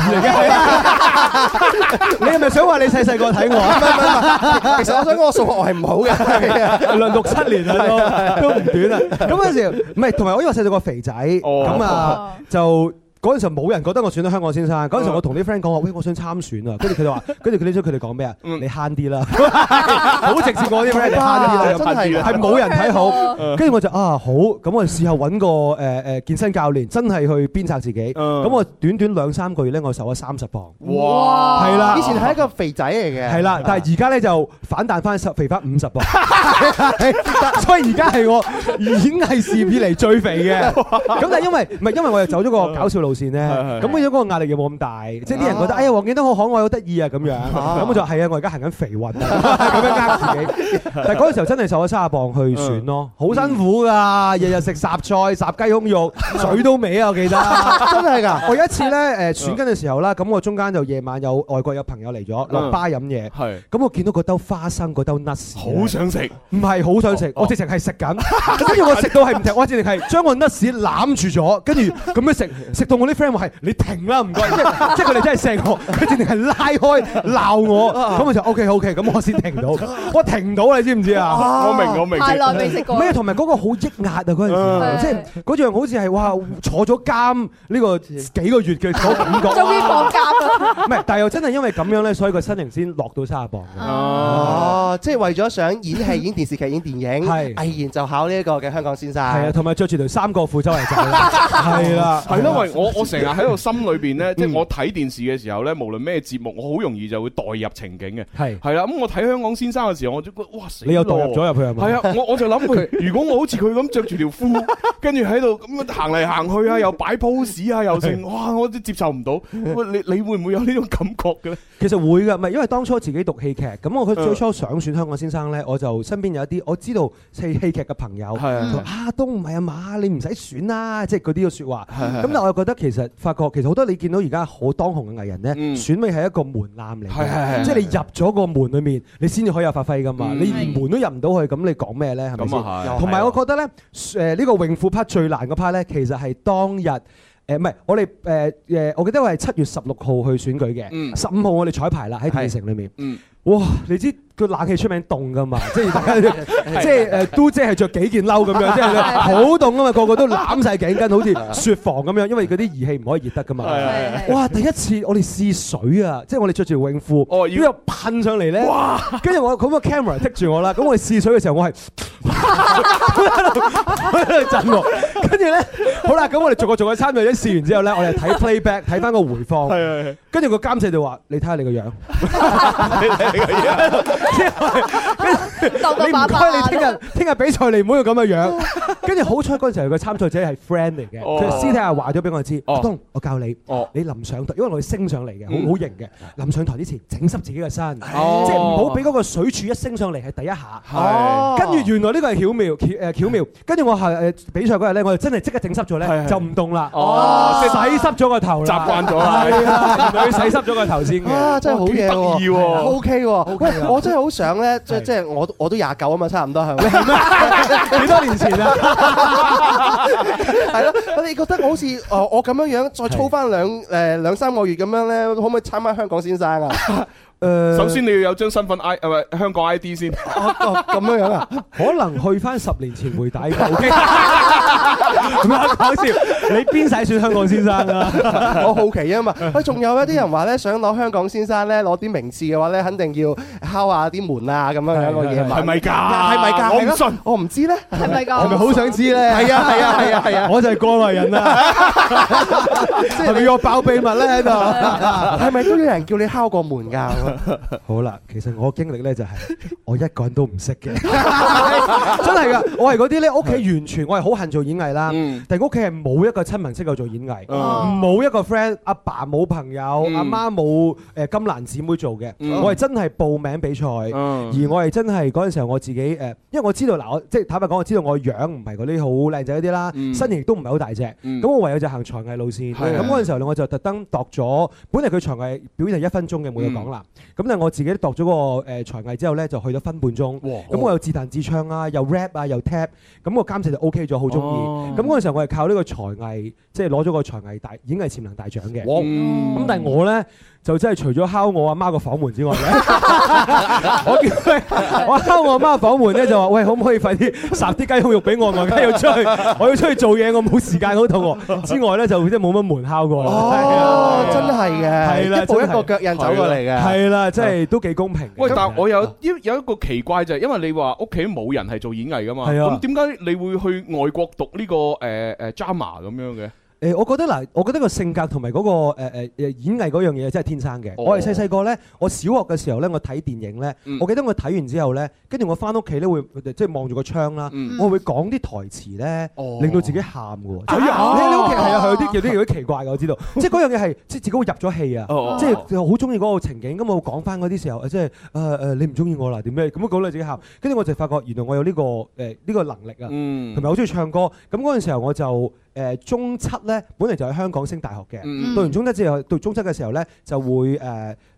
你係咪想話你細細個睇我？ 其實我想講我數學我係唔好嘅， 論6、7年啊都唔短啊。咁嗰陣時唔係，同埋我因為細細個肥仔，咁啊就。嗰陣時候冇人覺得我選到香港先生。嗰陣時候我同啲 friend 講話，喂，我想參選啊！跟住佢哋話，跟住佢哋講咩啊？你慳啲啦，好直接講啲 friend，你慳啲啦， 真係係冇人睇好。跟住我就好，咁我試下揾個健身教練，真係去鞭策自己。咁我短短2-3個月咧，我瘦咗30磅。哇！係啦， 以前係一個肥仔嚟嘅。 係啦，但係而家咧就反彈翻肥翻50磅。所以而家係我演藝事業以嚟最肥嘅。咁但係因為我又走咗個搞笑路線咧，咁變咗嗰個壓力又冇咁大，即係啲人覺得哎呀黃建東好可愛好得意啊咁樣，咁我就係啊，我而家行緊肥運啊，咁樣呃自己。但係嗰陣時候真係瘦咗30磅去選咯，好辛苦㗎，日日食雜菜、雜雞胸肉，嘴都歪啊！我記得真係㗎。 我有一次咧選緊嘅時候啦，咁我中間就夜晚有外國有朋友嚟咗落巴飲嘢，咁我見到嗰兜花生嗰兜 nuts， 好想食， 唔係好想食，我直情係食緊，跟住我食到係唔停，我直情係將個 nuts 攬住咗，跟住咁樣食到到我啲 friend 話係你停啦，唔該，即係佢哋真係錫我，佢直情係拉開鬧我，咁我就 OK，咁我先停到，我停唔到你知唔知啊？ 我明。 太耐未食過。 咩？同埋嗰個好抑壓啊！嗰陣時，即係嗰樣好似係哇坐咗監呢個幾個月嘅嗰感覺。 終於放假啦！ 唔係，但係又真係因為咁樣咧，所以個身形先落到30磅。 即係為咗想演戲、演電視劇、演電影，毅然就考呢一個嘅香港先生。 係啊，同埋着住條三角褲周圍走啦。係啦， 係咯，喂，我成日喺度心裏邊咧，即係我睇電視嘅時候咧，無論咩節目，我好容易就會代入情景嘅。係啦，咁我睇香港先生嘅時候，我就覺得哇死！ 你又代入咗入去係咪？ 係啊，我就諗佢，如果我好似佢咁着住條褲，跟住喺度咁樣行嚟行去啊，又擺 pose 啊，又成，哇！我都接受唔到。喂，你會唔會有呢種感覺嘅咧？ 其實會㗎，唔係因為當初自己讀戲劇，咁我最初想選香港先生咧，我就身邊有一啲我知道戲劇嘅朋友，都唔係啊嘛，你唔使選啦，即係嗰啲嘅説話。咁但係我又覺得其實發覺其實好多你見到而家好當紅嘅藝人咧，選美係一個門檻嚟嘅，即係你入咗個門裡面，你先至可以有發揮㗎嘛。你連門都入唔到去，咁你講咩咧？係咪先？同埋我覺得咧，呢個泳褲 part 最難嗰 part 咧，其實係當日。唔係，我哋我記得我係7月16號去選舉嘅，15號我哋彩排啦喺電視城裏面。哇！你知個冷氣出名凍㗎嘛？即係大家即係都姐係着幾件褸咁樣，即係好凍㗎嘛，個個都攬晒頸巾，好似雪房咁樣，因為嗰啲儀器唔可以熱得㗎嘛。哇！第一次我哋試水啊，即係我哋着住泳褲，然之後噴上嚟咧，跟住我咁個 camera 剔住我啦，咁我哋試水嘅時候，我係喺度震喎，跟住咧，好啦，咁我哋逐個參與咗試完之後咧，我哋睇 playback 睇翻個回放，跟住個監製就話：你睇下你個樣。你唔該，你聽日比賽你唔好要咁嘅樣。跟住好彩嗰陣時候個參賽者係 friend 嚟嘅，佢私底下話咗俾我知，阿東，我教你，你臨上台，因為我哋升上嚟嘅，好型嘅，臨上台之前整濕自己嘅身，即係唔好俾嗰個水柱一升上嚟係第一下。跟住原來呢個係巧妙，跟住我係比賽嗰日咧，我就真係即刻整濕咗咧，就唔凍啦。洗濕咗個頭， 習慣咗啦。 係啊，原來洗濕咗個頭先嘅。 真係好嘢喎， 得意喎 ，OK 喎。喂，我真係好想咧，即係我都29啊嘛，差唔多係咪？ 幾多年前啊？ 係咯，你覺得好似我咁樣樣再操翻兩三個月咁樣咧，可唔可以參加香港先生啊？ 首先你要有張身份 香港 ID 先。 咁樣樣啊？ 可能去翻10年前回帶嘅。OK。唔係講笑，你邊使選香港先生啊？ 我好奇啊嘛。喂，仲有一啲人話咧，想攞香港先生咧，攞啲名次嘅話咧，肯定要敲下啲門啊，咁樣樣個嘢。 係咪㗎？ 係咪㗎？ 我唔信， 我唔知咧。 係咪㗎？ 係咪好想知咧？ 係啊！ 我就係過來人啊！係咪要爆秘密咧喺度？ 係咪都有人叫你敲過門㗎？ 好啦，其實我經歷咧就係我一個人都唔識嘅，真係㗎！我係嗰啲咧，屋企完全我係好恨做演藝啦，但係屋企係冇一個親朋識我做演藝，冇一個 friend，阿爸冇朋友，阿媽冇金蘭姊妹做嘅，我係真係報名比賽，而我係真係嗰陣時候我自己因為我知道嗱，我即係坦白講，我知道我樣唔係嗰啲好靚仔嗰啲啦，身形亦都唔係好大隻，咁我唯有就行才藝路線，咁嗰陣時候咧我就特登度咗，本嚟佢才藝表演係1分鐘嘅冇嘢講啦。咁但係我自己度咗個才藝之後咧，就去咗分半鐘。咁我又自彈自唱啊，又 rap 啊，又 tap。咁個監製就 OK 咗，好中意。咁嗰陣時候我係靠呢個才藝，即係攞咗個才藝演藝潛能大獎嘅。咁但係我咧就真係除咗敲我阿媽個房門之外咧，我敲我阿媽房門咧就話：喂，可唔可以快啲烚啲雞胸肉俾我？我而家要出去，我要出去做嘢，我冇時間好肚餓。之外咧就即係冇乜門敲過。 真係嘅，係啦，一步一個腳印走過嚟嘅， 係啦，即係都幾公平。 喂，但係我有一個奇怪就係，因為你話屋企冇人係做演藝噶嘛，咁點解你會去外國讀呢個drama 咁樣嘅？ 我覺得個性格同埋嗰個演藝嗰樣嘢真係天生嘅。我係細個咧，我小學嘅時候咧，我睇電影咧，我記得我睇完之後咧，跟住我翻屋企咧會即係望住個窗啦，我會講啲台詞咧，令到自己喊嘅喎。你屋企係啊，有啲奇怪嘅，我知道。即係嗰樣嘢係即係自己會入咗戲啊，即係好中意嗰個情景。咁我講翻嗰啲時候，即係你唔中意我啦點咩？咁樣講到自己喊。跟住我就發覺原來我有呢個能力啊，同埋好中意唱歌。咁嗰陣時候我就中7咧，本嚟就喺香港升大學嘅。讀完中7之後，讀中7嘅時候咧，就會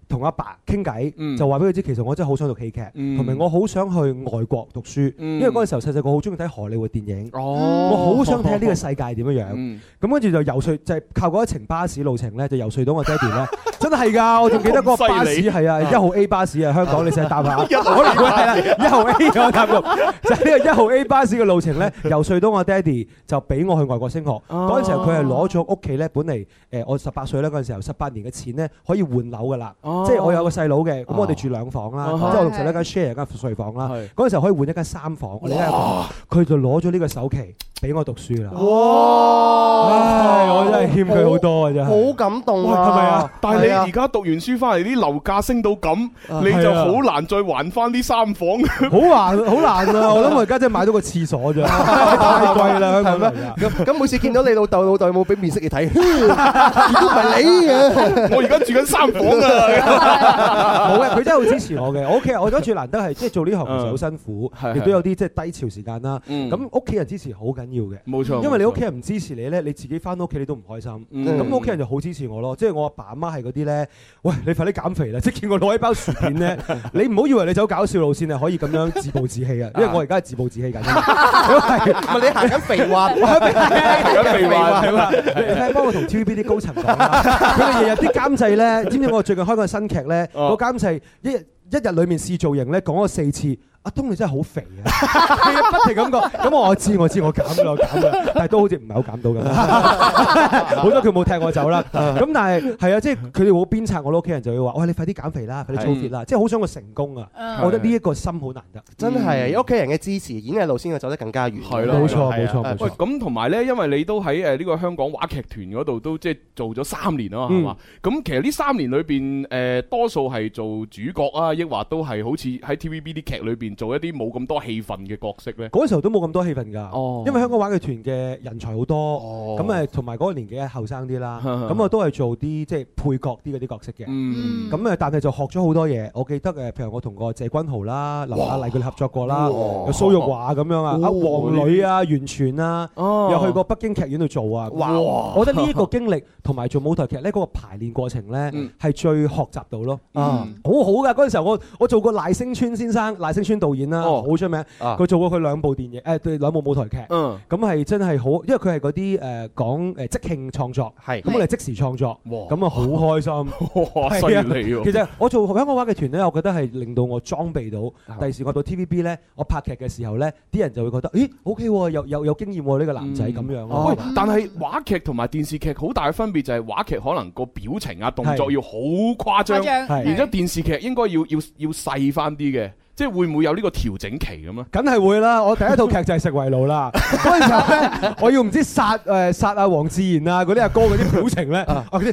同阿爸傾偈，就話俾佢知，其實我真係好想讀戲劇，同埋我好想去外國讀書，因為嗰陣時候細細個好中意睇荷里活電影，我好想睇下呢個世界點樣樣。咁跟住就游說，就係靠嗰一程巴士路程咧，就游說到我爹哋咧，真係㗎！我仲記得嗰個巴士係啊，1號 A 巴士啊，香港你成日搭下，可能係啦，1號 A 我搭過，就係呢個1號 A 巴士嘅路程咧，游說到我爹哋就俾我去外國升學。嗰陣時候佢係攞咗屋企咧，本嚟我18歲咧嗰陣時候18年嘅錢咧可以換樓㗎啦，即係我有個細佬嘅，咁我哋住2房啦，即係我同細佬間 share 間睡房啦。嗰陣時候可以換一間3房，我哋一間房，佢就攞咗呢個首期俾我讀書啦。哇！我真係欠佢好多啊，真係。 好感動啊！ 係咪啊？但係你而家讀完書翻嚟，啲樓價升到咁，你就好難再還翻啲3房。 好難啊！我諗我而家真係買到個廁所啫，太貴啦，係咩？ 咁每次見到你老豆有冇俾面色你睇？都唔係你嘅， 我而家住緊3房啊！ 冇嘅，佢真係好支持我嘅。我屋企人，我覺得最難得係即係做呢行其實好辛苦，亦都有啲即係低潮時間啦。咁屋企人支持好緊要嘅， 冇錯。 因為你屋企人唔支持你咧，你自己翻到屋企你都唔開心。咁屋企人就好支持我咯。即係我阿爸阿媽係嗰啲咧，喂，你快啲減肥啦！即係見我攞一包薯片咧，你唔好以為你走搞笑路線係可以咁樣自暴自棄啊！因為我而家係自暴自棄緊。 唔係你行緊肥話， 行緊肥話係嘛？ 你睇幫我同 TVB 啲高層講啦，佢哋日日啲監製咧，知唔知我最近開個新劇咧？個監製一日裡面試造型咧，講咗4次。阿東你真係好肥啊！不停咁講，咁我知我減啦，但係都好似唔係好減到咁。好多佢冇踢我走啦。咁但係係啊，即係佢哋會鞭策我屋企人就會話：喂，你快啲減肥啦，快啲操 fit 啦！即係好想我成功啊！我覺得呢一個心好難得， 真係啊！屋企人嘅支持，演藝路先係走得更加遠。 係咯， 冇錯。 喂，咁同埋咧，因為你都喺呢個香港話劇團嗰度都即係做咗3年啊嘛，係嘛？咁其實呢3年裏邊多數係做主角啊，抑或都係好似喺 TVB 啲劇裏邊做一啲冇咁多戲份嘅角色咧？ 嗰陣時候都冇咁多戲份㗎，因為香港話劇團嘅人才好多，咁同埋嗰個年紀後生啲啦，咁我都係做啲即係配角啲嗰啲角色嘅，咁但係就學咗好多嘢。我記得譬如我同個謝君豪啦、劉雅麗佢哋合作過啦，有蘇玉華咁樣啊，阿黃磊啊、袁泉啊，又去過北京劇院度做啊。我覺得呢一個經歷同埋做舞台劇咧，嗰個排練過程咧係最學習到咯，好好㗎。嗰陣時候我做過賴聲川先生、賴聲川導演啦，好出名。佢做過佢2部電影，2部舞台劇，咁係真係好，因為佢係嗰啲講即興創作，咁我哋即時創作，咁啊好開心，犀利喎！其實我做香港話劇團咧，我覺得係令到我裝備到，第時我到 TVB 咧，我拍劇嘅時候咧，啲人就會覺得，咦 OK 喎，有經驗喎呢個男仔咁樣咯。 但係話劇同埋電視劇好大嘅分別就係話劇可能個表情啊動作要好誇張，然之後電視劇應該要細翻啲嘅。即係會唔會有呢個調整期咁啊？ 梗係會啦！我第一套劇就係食為奴啦。嗰陣時候咧，我要唔知殺阿黃志賢啊嗰啲阿哥嗰啲表情咧，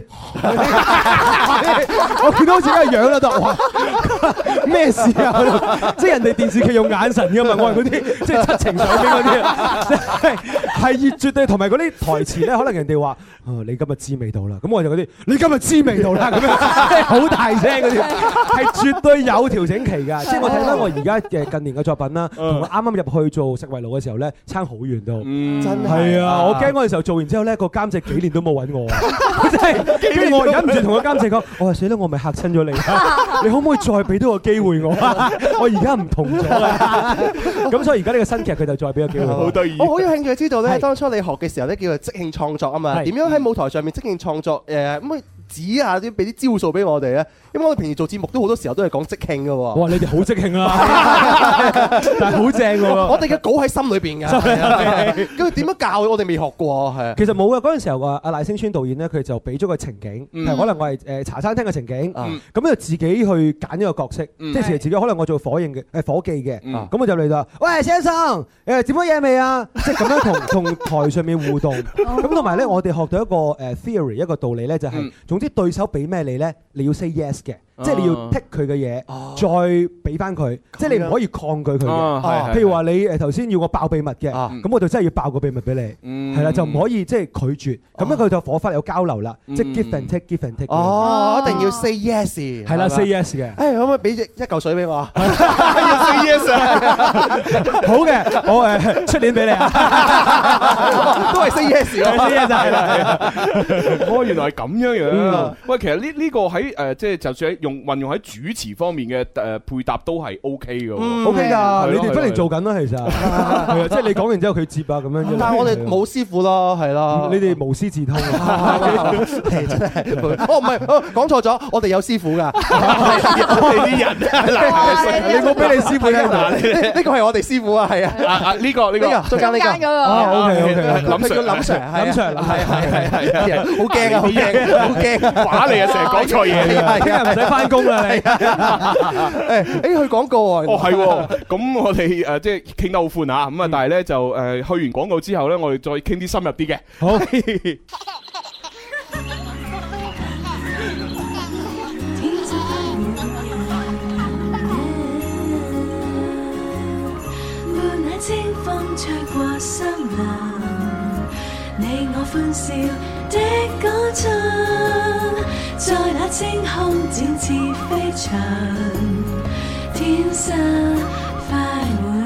我見到好似嗰個樣啦，都哇咩事啊？即係人哋電視劇用眼神㗎嘛，我係嗰啲即係七情上邊嗰啲啊，係熱絕對同埋嗰啲台詞咧，可能人哋話你今日知味道啦，咁我就嗰啲你今日知味道啦咁樣，好大聲嗰啲，係絕對有調整期㗎。即係我睇翻我而家嘅近年嘅作品啦，同我啱啱入去做食為奴嘅時候咧，差好遠都，真係啊！我驚嗰陣時候做完之後咧，個監製幾年都冇揾我啊！真係，跟住我忍唔住同個監製講：我話死啦，我咪嚇親咗你，你可唔可以再俾多個機會我啊？我而家唔同咗啦。咁所以而家呢個新劇佢就再俾個機會我。 好得意！ 我好有興趣知道咧，當初你學嘅時候咧，叫做即興創作啊嘛，點樣喺舞台上面即興創作？咁指下啲俾啲招數俾我哋咧，因為我哋平時做節目都好多時候都係講即興嘅喎。 哇！你哋好即興啦，但係好正喎。 我哋嘅稿喺心裏邊㗎。咁點樣教我哋未學過係？ 其實冇嘅，嗰陣時候阿賴聲川導演咧，佢就俾咗個情景，可能我係茶餐廳嘅情景，咁就自己去揀一個角色，即係自己可能我做伙計嘅，咁我就嚟就喂先生，點咗嘢未啊？即係咁樣同台上面互動。咁同埋咧，我哋學到一個theory 一個道理咧，就係總之對手俾咩你咧，你要 say yes 嘅。即係你要剔佢嘅嘢，再俾翻佢，即係你唔可以抗拒佢嘅。譬如話你頭先要我爆秘密嘅，咁我就真係要爆個秘密俾你，係啦，就唔可以即係拒絕。咁樣佢就火花有交流啦，即係 give and take，give and take。 哦，一定要 say yes， 係啦 ，say yes 嘅。 可唔可以俾一嚿水俾我？ 要 say yes 啊！ 好嘅，我出年俾你啊， 都係 say yes 咯 ，say yes 就係啦。 哦，原來係咁樣樣。喂，其實呢個喺即係就算喺運用喺主持方面嘅配搭都係 OK 嘅 ，OK 㗎，你哋不停做緊啦，其實係啊，即係你講完之後佢接啊咁樣。 但係我哋冇師傅咯，係咯， 你哋無師自通啊， 真係。唔係，講錯咗，我哋有師傅㗎。 我哋啲人你冇俾你師傅聽嗱， 呢個係我哋師傅啊，係啊， 呢個中間呢個 ，OK， 林 Sir， 林 Sir， 係， 好驚啊，好驚，好驚， 話你啊，成日講錯嘢， 聽日唔使翻工啦你。 去廣告喎。 哦係喎，咁我哋即係傾得好寬啊，咁啊，但係咧就去完廣告之後咧，我哋再傾啲深入啲嘅。 好。 清風吹過森林，你我歡笑的歌唱，在那青空展翅飛翔，天生快活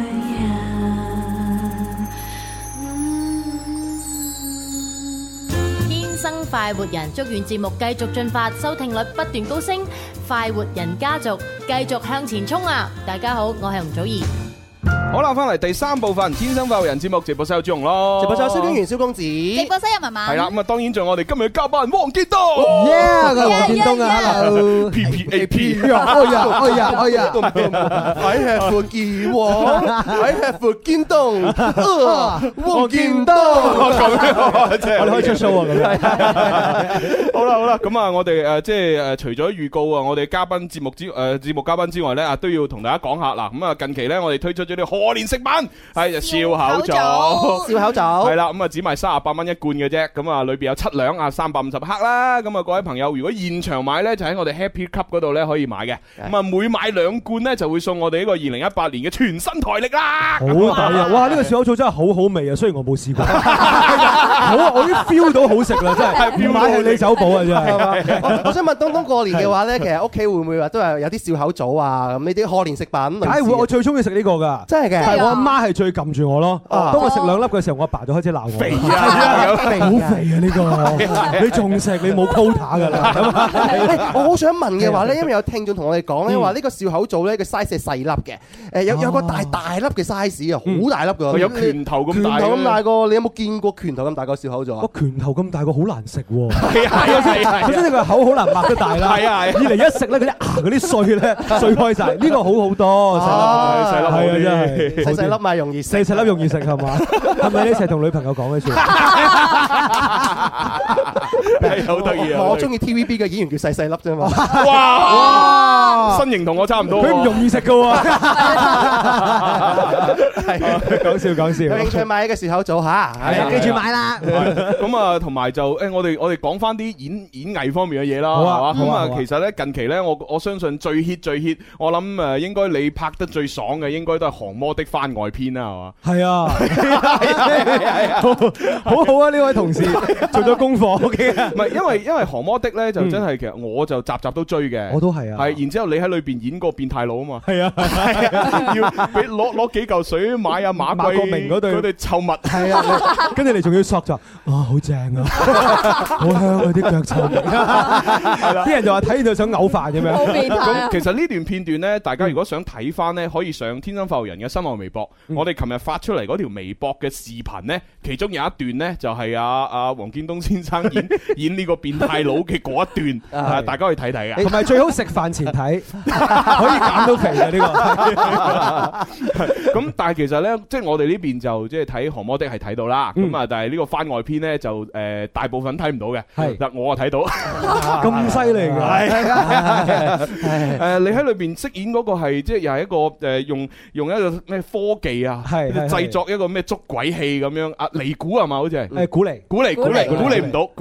人。 天生快活人，祝願節目繼續進發，收聽率不斷高升，快活人家族繼續向前衝啊！大家好，我係吳祖兒。 好啦，翻嚟第三部分《天生快活人》節目，直播室有朱紅咯， 直播室有蕭敬元、蕭公子， 直播室有文文。 係啦，咁啊，當然仲有我哋今日嘅嘉賓黃建東。 黃建東啊 ，Hello。 PPAP。 哎呀 I have a 建王 ，I have a 建東，黃建東。 咁樣，即係我哋可以出 show 啊！咁樣。 好啦，咁啊，我哋即係除咗預告啊，我哋嘉賓節目嘉賓之外咧，都要同大家講下嗱，咁啊，近期咧，我哋推出咗啲賀年食品，係笑口棗，係啦，咁啊，只賣38蚊一罐嘅啫，咁啊，裏邊有7兩啊，350克啦，咁啊，各位朋友，如果現場買咧，就喺我哋 Happy Cup 嗰度咧可以買嘅，咁啊，每買2罐咧就會送我哋呢個2018年嘅全新台曆啦， 好抵啊！哇，呢個笑口棗真係好好味啊，雖然我冇試過，好，我已經 feel 到好食啦，真係，買係你走寶啊，真係。 我想問東東過年嘅話咧，其實屋企會唔會話都係有啲笑口棗啊？咁呢啲賀年食品， 梗係會，我最中意食呢個㗎， 真係嘅， 係我阿媽係最撳住我咯。當我食2粒嘅時候，我阿爸就開始鬧我， 肥啊， 好肥啊呢個，你仲食你冇 quota 㗎啦。 我好想問嘅話咧，因為有聽眾同我哋講咧話呢個笑口棗咧個 size 係細粒嘅，有個大粒嘅 size 啊，好大粒㗎， 有拳頭咁大， 拳頭咁大個，你有冇見過拳頭咁大個笑口棗啊？ 我拳頭咁大個好難食喎， 係， 首先你個口好難擘得大啦， 係啊， 二嚟一食咧嗰啲碎咧碎開晒，呢個好好多，細粒係啊真係， 細粒咪容易食， 細粒容易食係嘛？係咪你成日同女朋友講嘅説話？ 好得意啊！ 我中意 TVB 嘅演員叫細粒啫嘛。 哇！身形同我差唔多， 佢唔容易食㗎喎。講笑。 有興趣買嘅笑口棗嚇，記住買啦。 咁啊，同埋就我哋講翻啲演藝方面嘅嘢啦，係嘛？咁啊，其實咧近期咧，我相信最 hit， 我諗應該你拍得最爽嘅應該都係《降魔的番外篇》啦，係嘛？ 係啊，好好啊！呢位同事做咗功課，OK 啊？ 唔係因為《降魔的》咧就真係其實我就集集都追嘅， 我都係啊。 係，然之後你喺裏邊演個變態佬啊嘛， 係啊， 要俾攞幾嚿水買啊馬國明嗰對臭襪，係啊，跟住你仲要索就好正啊，好香啊啲腳臭味，係啦，啲人就話睇完就想嘔飯咁樣。 咁其實呢段片段咧，大家如果想睇翻咧，可以上天生發育人嘅新浪微博。我哋琴日發出嚟嗰條微博嘅視頻咧，其中有一段咧就係阿黃建東先生演呢個變態佬嘅嗰一段，大家可以睇睇嘅。 同埋最好食飯前睇，可以減到肥嘅呢個。 咁但係其實咧，即係我哋呢邊就即係睇《降魔的》係睇到啦。咁啊，但係呢個番外篇咧就大部分睇唔到嘅。係，但我啊睇到。 咁犀利㗎！ 係你喺裏邊飾演嗰個係即係又係一個用一個咩科技啊，製作一個咩捉鬼器咁樣啊，尼古係嘛？好似係鼓嚟唔到。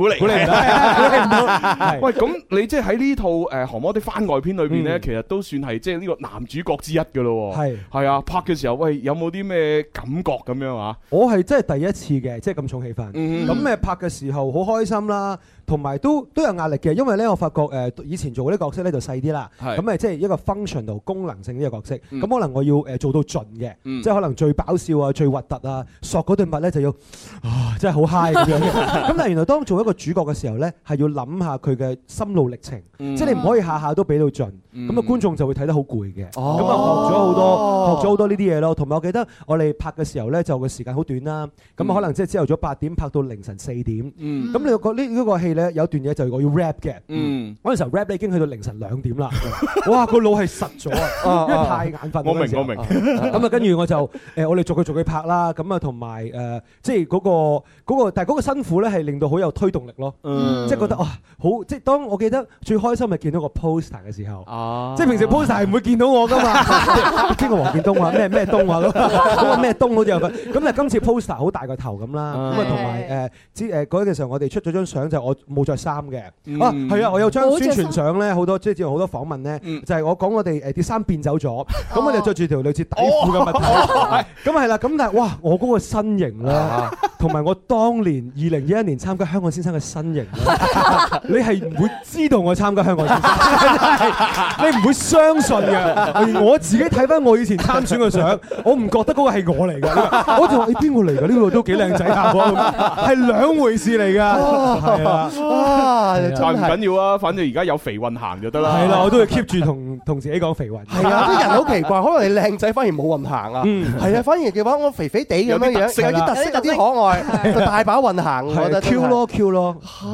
喂，咁你即係喺呢套《降魔的》番外篇裏邊咧，其實都算係即係呢個男主角之一㗎咯。係啊，拍嘅時候，喂，有冇啲咩感覺咁樣啊？ 我係真係第一次嘅，即係咁重氣氛。咁拍嘅時候好開心啦。同埋都有壓力嘅，因為咧我發覺以前做嗰啲角色咧就細啲啦，咁即係一個 functional 功能性呢個角色，咁可能我要做到盡嘅，即係可能最爆笑啊、最核突啊，索嗰對襪咧就要真係好 high 咁樣嘅。咁但係原來當做一個主角嘅時候咧，係要諗下佢嘅心路歷程，即係你唔可以下下都俾到盡，咁啊觀眾就會睇得好攰嘅。咁啊學咗好多呢啲嘢咯。同埋我記得我哋拍嘅時候咧，就個時間好短啦，咁啊可能即係朝頭早8點拍到凌晨4點。咁你個呢個戲咧有段嘢就係我要 rap 嘅。嗰陣時候 rap 咧已經去到凌晨2點啦。哇！個腦係實咗啊，因為太眼瞓。我明。咁啊跟住我就我哋逐句拍啦。咁啊同埋即係嗰個，但係嗰個辛苦咧係令到好有推動力咯。即係覺得哇好，即係當我記得最開心係見到個 poster 嘅時候。即係平時 poster 係唔會見到我噶嘛。邊個黃建東啊？咩東啊？咁啊咩東好似有份。咁但係今次 poster 好大個頭咁啦。咁啊同埋嗰陣時候我哋出咗張相就我冇着衫嘅。係啊，我有張宣傳相咧，好多即係之前好多訪問咧，就係我講我哋啲衫變走咗，咁我哋着住條類似底褲嘅物體。咁係啦，咁但係哇，我嗰個身形咧，同埋我當年2021年參加香港先生嘅身形咧，你係唔會知道我參加香港先生，你唔會相信嘅。我自己睇翻我以前參選嘅相，我唔覺得嗰個係我嚟㗎。我就話你邊個嚟㗎？呢個都幾靚仔下喎，係兩回事嚟㗎。係啊， 但唔緊要啊，反正而家有肥運行就得啦。 係啦，我都會 keep 住同自己講肥運。 係啊，啲人好奇怪，可能你靚仔反而冇運行啊。係啊，反而嘅話我肥肥地咁樣樣，有啲特色，有啲可愛，就大把運行。我覺得 Q 咯。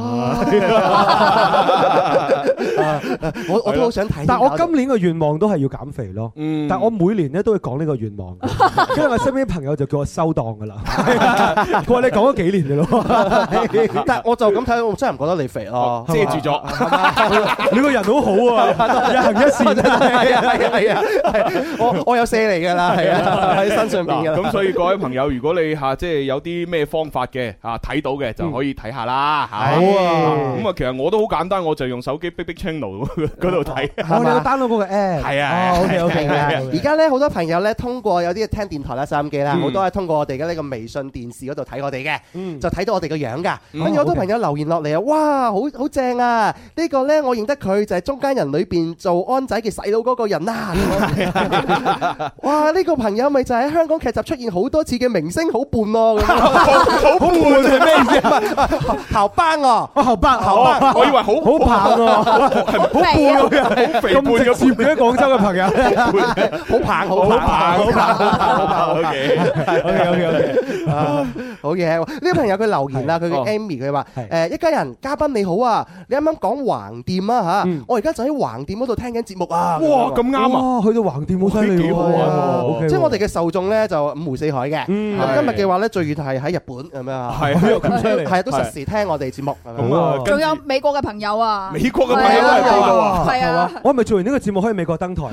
我都好想睇。 但係我今年嘅願望都係要減肥咯。但係我每年咧都會講呢個願望，因為我身邊啲朋友就叫我收檔㗎啦。佢話你講咗幾年㗎咯。 但係我就咁睇，我真係唔覺得你肥咯， 遮住咗。 你個人好好啊，日行一善。 係我有卸嚟㗎啦，係啊，喺身上邊㗎啦。 咁所以各位朋友，如果你即係有啲咩方法嘅睇到嘅，就可以睇下啦。好啊。咁啊，其實我都好簡單，我就用手機 Big Channel 嗰度睇。 我哋 download 嗰個 app。係啊。OK。 而家咧好多朋友咧通過有啲聽電台啦、收音機啦，好多係通過我哋嘅呢個微信電視嗰度睇我哋嘅，就睇到我哋個樣㗎。跟住好多朋友留言落嚟啊，哇，好正啊！呢個咧我認得佢就係中間人裏邊做安仔嘅細佬嗰個人啦。哇！呢個朋友咪就喺香港劇集出現好多次嘅明星，好伴咯。 好伴係咩意思？ 校班啊， 校班， 我以為好棒啊，好肥啊，好肥胖嘅接嘅廣州嘅朋友， 好棒。OK，好嘢。呢個朋友佢留言啦，佢叫 Amy，佢話一家人嘉賓你好啊，你啱啱講橫店啊嚇，我而家就喺橫店嗰度聽緊節目啊。 哇，咁啱啊！ 去到橫店好犀利喎。 即係我哋嘅受眾咧就五湖四海嘅。咁今日嘅話咧最遠係喺日本咁樣啊。 係咁犀利。 係啊，都實時聽我哋節目。 仲有美國嘅朋友啊。 美國嘅朋友都係報道啊。 係啊。 我係咪做完呢個節目可以美國登台？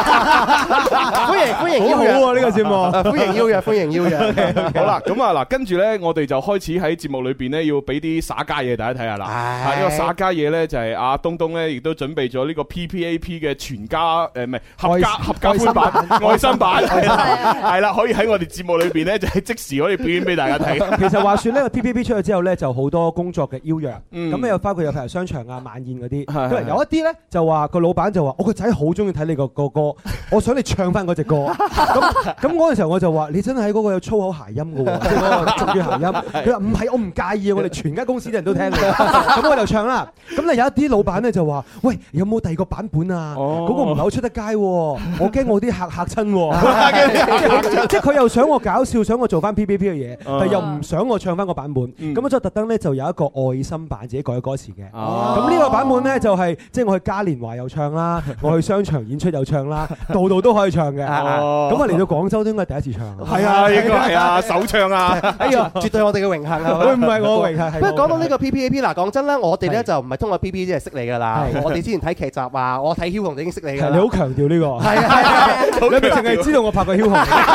歡迎邀約。 好啊呢個節目。 歡迎邀約。 好啦，咁啊嗱，跟住咧，我哋就開始喺節目裏邊咧，要俾啲耍家嘢大家睇下啦。呢個耍家嘢咧就係阿東東咧，亦都準備咗呢個 PPAP 嘅全家唔係合家歡版愛心版，係啦，可以喺我哋節目裏邊咧就係即時可以表演俾大家睇。 其實話説呢個 PPAP 出咗之後咧，就好多工作嘅邀約，咁又包括有譬如商場啊、晚宴嗰啲，有一啲咧就話個老闆就話：我個仔好中意睇你個歌，我想你唱翻嗰隻歌。咁嗰陣時候我就話：你真係喺嗰個有粗口諧音嘅喎，即係嗰個俗語諧音。佢話唔係，我唔介意啊，我哋全間公司啲人都聽嘅。咁我就唱啦。咁咧有一啲老闆咧就話：喂，有冇第二個版本啊？嗰個唔係好出得街喎，我驚我啲客嚇親喎。即係佢又想我搞笑，想我做翻 PPAP 嘅嘢，但又唔想我唱翻個版本。咁我就特登咧就有一個愛心版，自己改歌詞嘅。咁呢個版本咧就係即係我去嘉年華又唱啦，我去商場演出又唱啦，度都可以唱嘅。咁我嚟到廣州都應該第一次唱。 係啊，應該係啊，首唱啊。 哎呀，絕對我哋嘅榮幸啊！ 會唔係我榮幸？ 不過講到呢個 PPAP 嗱，講真啦，我哋咧就唔係通過 PPAP 即係識你㗎啦。我哋之前睇劇集啊，我睇梟雄就已經識你㗎啦。 你好強調呢個。係啊， 你咪淨係知道我拍過梟雄。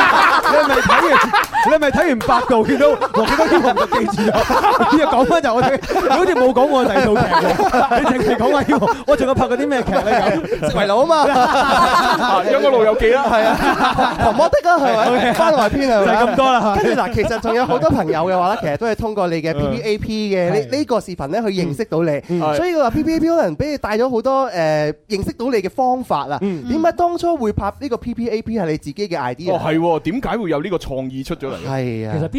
你咪睇完百度見到我記得梟雄就記住咗。又講翻就我哋，你好似冇講過第二套劇喎。你淨係講話梟雄，我仲有拍過啲咩劇咧？咁食為奴啊嘛， 有個老友記啦，係啊， 狂魔的啊，係咪？番外篇係咪？ 就係咁多啦。 跟住嗱，其實仲有好多朋友嘅話咧，其實都係通過你嘅 PPAP 嘅呢個視頻咧去認識到你，所以佢話 PPAP 可能俾你帶咗好多認識到你嘅方法啊。點解當初會拍呢個 PPAP 係你自己嘅 idea？ 係喎，點解會有呢個創意出咗嚟？ 係啊， 其實 PPAP 嗰陣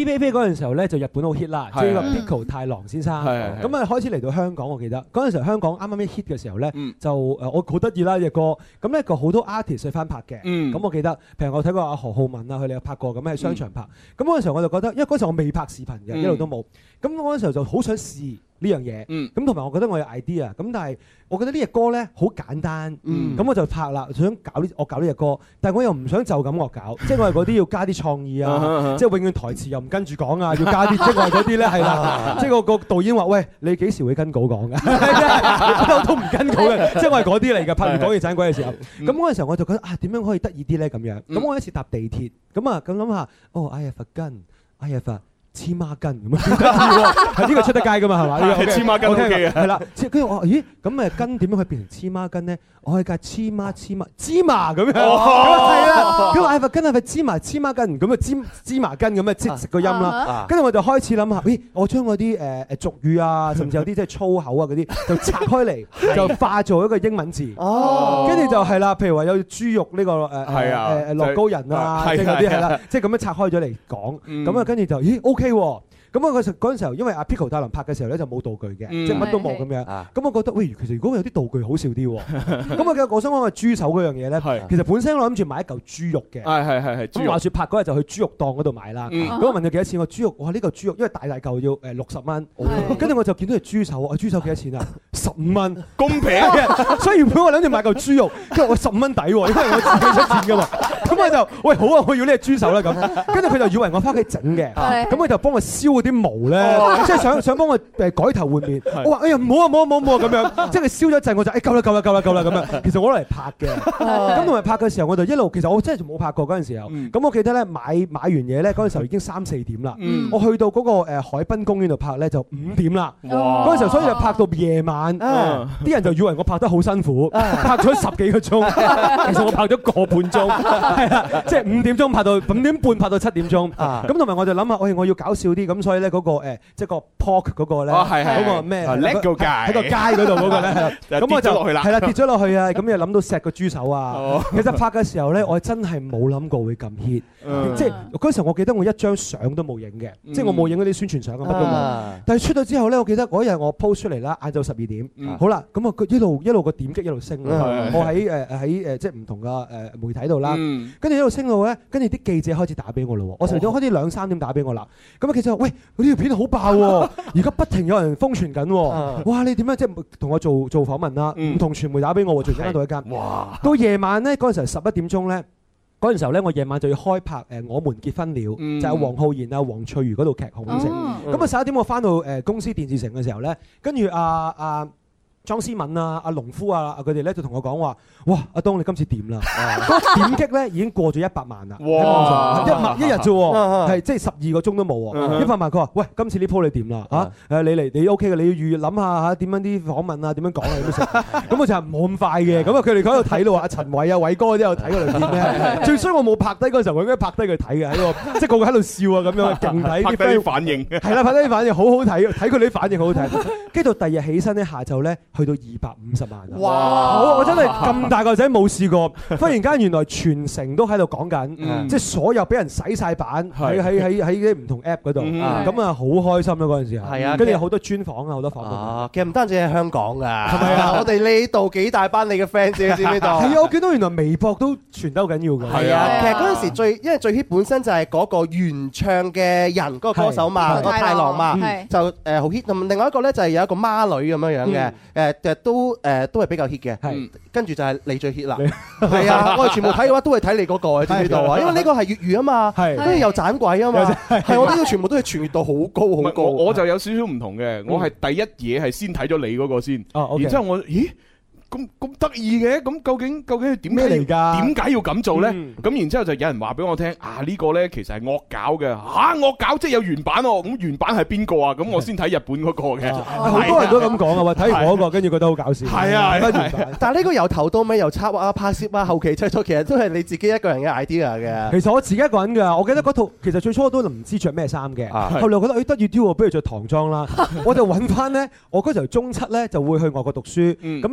嗰陣時候咧就日本好 hit 啦，即係個 Pico 太郎先生。咁啊開始嚟到香港，我記得嗰陣時候香港啱啱一 hit 嘅時候咧，就我好得意啦隻歌。咁咧個好多 artist 去翻拍嘅。咁我記得，譬如我睇過阿何浩文啊，佢哋有拍過咁喺商場拍。咁嗰陣時候我就覺得，因為嗰陣時候我未拍視頻嘅，一路都冇。咁嗰陣時候就好想試呢樣嘢。咁同埋我覺得我有 idea。咁但係我覺得呢隻歌咧好簡單。咁我就拍啦，想我搞呢隻歌，但係我又唔想就咁惡搞，即係我係嗰啲要加啲創意啊，即係永遠台詞又唔跟住講啊，要加啲，即係我係嗰啲咧係啦，即係個導演話：喂，你幾時會跟稿講㗎？我都唔跟稿嘅，即係我係嗰啲嚟嘅。拍完講嘢盞鬼嘅時候，咁嗰陣時候我就覺得點樣可以得意啲咧咁樣？咁我一次搭地鐵，咁諗下，I have a gun，I have a黐孖筋咁啊！係呢個出得街㗎嘛係嘛？ 係黐孖筋 OK 嘅。 係啦，跟住我話咦咁筋點樣可以變成黐孖筋咧？我可以加芝麻咁樣。係啦，佢話I have a gun係咪芝麻筋咁啊？芝麻筋咁啊，即食個音啦。跟住我就開始諗下，咦我將嗰啲俗語啊，甚至有啲即係粗口啊嗰啲，就拆開嚟，就化做一個英文字。跟住就係啦，譬如話有豬肉呢個樂高人啊，即係嗰啲係啦，即係咁樣拆開咗嚟講。咁啊跟住就咦 OK。咁啊嗰陣時候，因為阿 Pico 太郎拍嘅時候咧就冇道具嘅，即係乜都冇咁樣。咁我覺得喂，其實如果有啲道具好笑啲喎。咁啊，我想講個豬手嗰樣嘢咧，其實本身我諗住買一嚿豬肉嘅。係。咁話説拍嗰日就去豬肉檔嗰度買啦。咁我問佢幾多錢？我豬肉，哇呢嚿豬肉因為大嚿要60蚊。跟住我就見到條豬手，豬手幾多錢啊？15蚊， 公平嘅。 所以原本我諗住買嚿豬肉，跟住我15蚊抵喎，因為我自己出錢㗎嘛。咁我就喂好啊，我要呢隻豬手啦咁。跟住佢就以為我翻屋企整嘅，咁佢就幫我燒嗰啲毛咧，即係想幫我改頭換面。我話哎呀唔好啊咁樣，即係佢燒咗一陣我就夠啦咁樣。其實我攞嚟拍嘅，咁同埋拍嘅時候我就一路其實我真係冇拍過嗰陣時候。咁我記得咧買完嘢咧嗰陣時候已經3-4點啦。我去到嗰個海濱公園度拍咧就5點啦。嗰陣時候所以就拍到夜晚，啲人就以為我拍得好辛苦，拍咗10幾個鐘，其實我拍咗個半鐘，係啦，即係5點鐘拍到5點半拍到7點鐘。咁同埋我就諗下，我要搞笑啲，咁所以咧嗰個即係個 pork 嗰個咧，嗰個咩喺個街嗰度嗰個咧，咁我就係啦跌咗落去啊！咁又諗到錫個豬手啊！其實拍嘅時候咧，我真係冇諗過會咁 hit，即係嗰時候我記得我一張相都冇影嘅，即係我冇影嗰啲宣傳相啊乜都冇。但係出咗之後咧，我記得嗰日我 post 出嚟啦，晏晝12點，好啦，咁啊一路個點擊一路升，我喺即係唔同嘅媒體度啦，跟住一路升到咧，跟住啲記者開始打俾我咯，我成日開始2-3點打俾我啦，咁啊記者話喂，呢條片好爆喎，而家不停有人瘋傳緊喎，哇你點樣即係同我做訪問啦，唔同傳媒打俾我喎，最間到一間，到夜晚咧嗰陣時11點鐘咧，嗰陣時候咧我夜晚就要開拍我們結婚了，就係黃浩然啊黃翠如嗰套劇紅影城，咁啊11點我翻到公司電視城嘅時候咧，跟住莊思敏啊、阿農夫啊，佢哋咧就同我講話：哇，阿東你今次掂啦！點擊咧已經過咗100萬啦，喺網上一日啫喎，係即係12個鐘都冇喎，100萬。佢話：喂，今次呢鋪你掂啦嚇，你嚟你 OK 嘅，你要諗下嚇點樣啲訪問啊，點樣講啊，點樣食。咁我就冇咁快嘅，咁啊佢哋喺度睇咯，阿陳偉啊、偉哥嗰啲有睇嗰條片咧。最衰我冇拍低嗰時候，我應該拍低佢睇嘅，喺個即係個個喺度笑啊咁樣，勁睇啲 friend 反應。係啦，拍低啲反應好好睇，睇佢哋啲反應好好睇。跟住到第二日起身咧，下晝咧。去到250萬啊！哇！我真係咁大個仔冇試過，忽然間原來全城都喺度講緊，即係所有俾人洗晒版喺啲唔同 app 嗰度，咁啊好開心咯嗰陣時候。係啊，跟住好多專訪啊，好多訪問。 其實唔單止喺香港㗎， 係咪啊？ 我哋呢度幾大班你嘅 fans 知唔知呢度？ 係啊，我見到原來微博都傳得好緊要㗎。 係啊，其實嗰陣時因為最 hit 本身就係嗰個原唱嘅人，嗰個歌手嘛，個太郎嘛，就好 hit。咁另外一個咧就係有一個孖女咁樣樣嘅，都係比較 hit 嘅，跟住就係你最 hit 啦，係啊！我哋全部睇嘅話都係睇你嗰個，知唔知道啊？因為呢個係粵語啊嘛，跟住又盞鬼啊嘛，係我呢個全部都係傳閱到好高好高。 我就有少少唔同嘅，我係第一嘢係先睇咗你嗰個先，然之後我咦？咁得意嘅，咁究竟點咩嚟㗎？點解要咁做咧？咁然之後就有人話俾我聽，呢個咧其實係惡搞嘅，惡搞即係有原版喎。咁原版係邊個啊？咁我先睇日本嗰個嘅。 好多人都咁講啊，話睇完嗰個跟住覺得好搞笑。 係啊， 但係呢個由頭到尾由策劃啊、拍攝啊、後期製作，其實都係你自己一個人嘅 idea 嘅。 其實我自己一個人㗎，我記得嗰套其實最初我都唔知着咩衫嘅，後來覺得得意啲喎，不如着唐裝啦。我就揾翻咧，我嗰時候中7咧就會去外國讀書，咁啊需要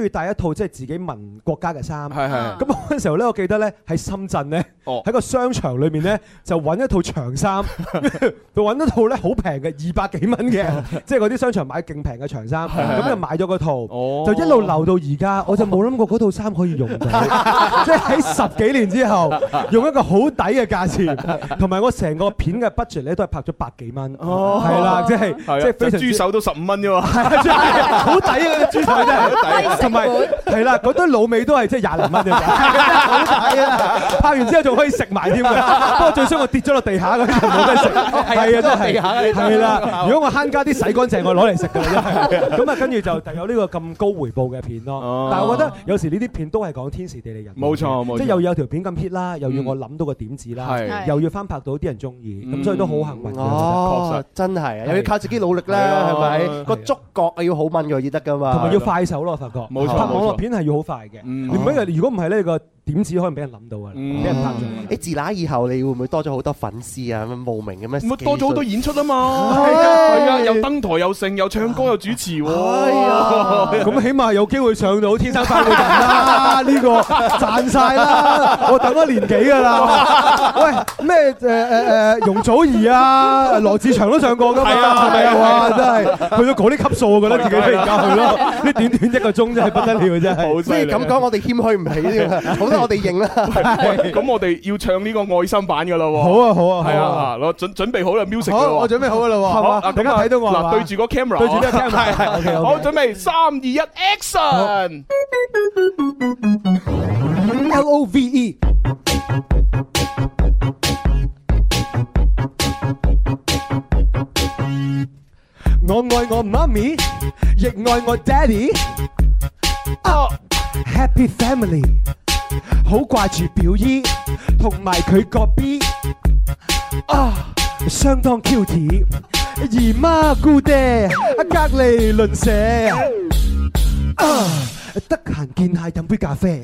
帶一套即係自己民國家嘅衫。 係。 咁嗰陣時候咧，我記得咧喺深圳咧，喺個商場裏面咧就揾一套長衫，就揾一套咧好平嘅200幾蚊嘅，即係嗰啲商場買勁平嘅長衫，咁就買咗嗰套，就一路留到而家，我就冇諗過嗰套衫可以用到，即係喺10幾年之後，用一個好抵嘅價錢，同埋我成個片嘅 budget 咧都係拍咗100幾蚊，係啦，即係非常。豬手都15蚊啫喎，好抵啊！嗰啲豬手真係，同埋係啦，嗰堆滷味都係即係20零蚊啫，好抵啊！拍完之後仲可以食埋添嘅，不過最衰我跌咗落地下嗰啲就冇得食，係啊，真係係啦。如果我慳家啲洗乾淨，我攞嚟食㗎啦，真係。咁啊，跟住就有呢個咁高回報嘅片咯。但係我覺得有時呢啲片都係講天時地利人和，冇錯，即係又有條片咁 hit 啦，又要我諗到個點子啦，又要翻拍到啲人中意，咁所以都好幸運嘅。 哦，真係又要靠自己努力啦，係咪？個觸覺要好敏鋭先得㗎嘛， 同埋要快手咯，我發覺。冇錯，拍網絡片係要好快嘅。如果唔係呢個點子可能俾人諗到啊，俾人拍咗。 自那以後你會唔會多咗好多粉絲啊？咁慕名咁樣？ 多咗好多演出啊嘛，係啊，又登台又盛又唱歌又主持喎。係啊， 咁起碼有機會上到天生快活人啦，呢個賺晒啦！我等咗年幾㗎啦。喂，咩容祖兒啊、羅志祥都上過㗎嘛？係咪啊？哇，真係去到嗰啲級數，我覺得自己飛而家去咯。呢短短1個鐘真係不得了，真係。 所以咁講，我哋謙虛唔起呢個，好多我哋認啦。 咁我哋要唱呢個愛心版㗎啦喎。 好啊，好啊， 係啊，攞準備好啦 music。 好，我準備好啦喎。係嘛？大家睇到我嗱，對住個 camera， 對住呢個 camera。 好，準備3、2、1 ，action！ LOVE。我愛我媽咪，亦愛我 daddy。Happy family， 好掛住表姨同埋佢個 B。相當 cute， 姨媽姑爹隔離鄰舍。得閒見下飲杯咖啡。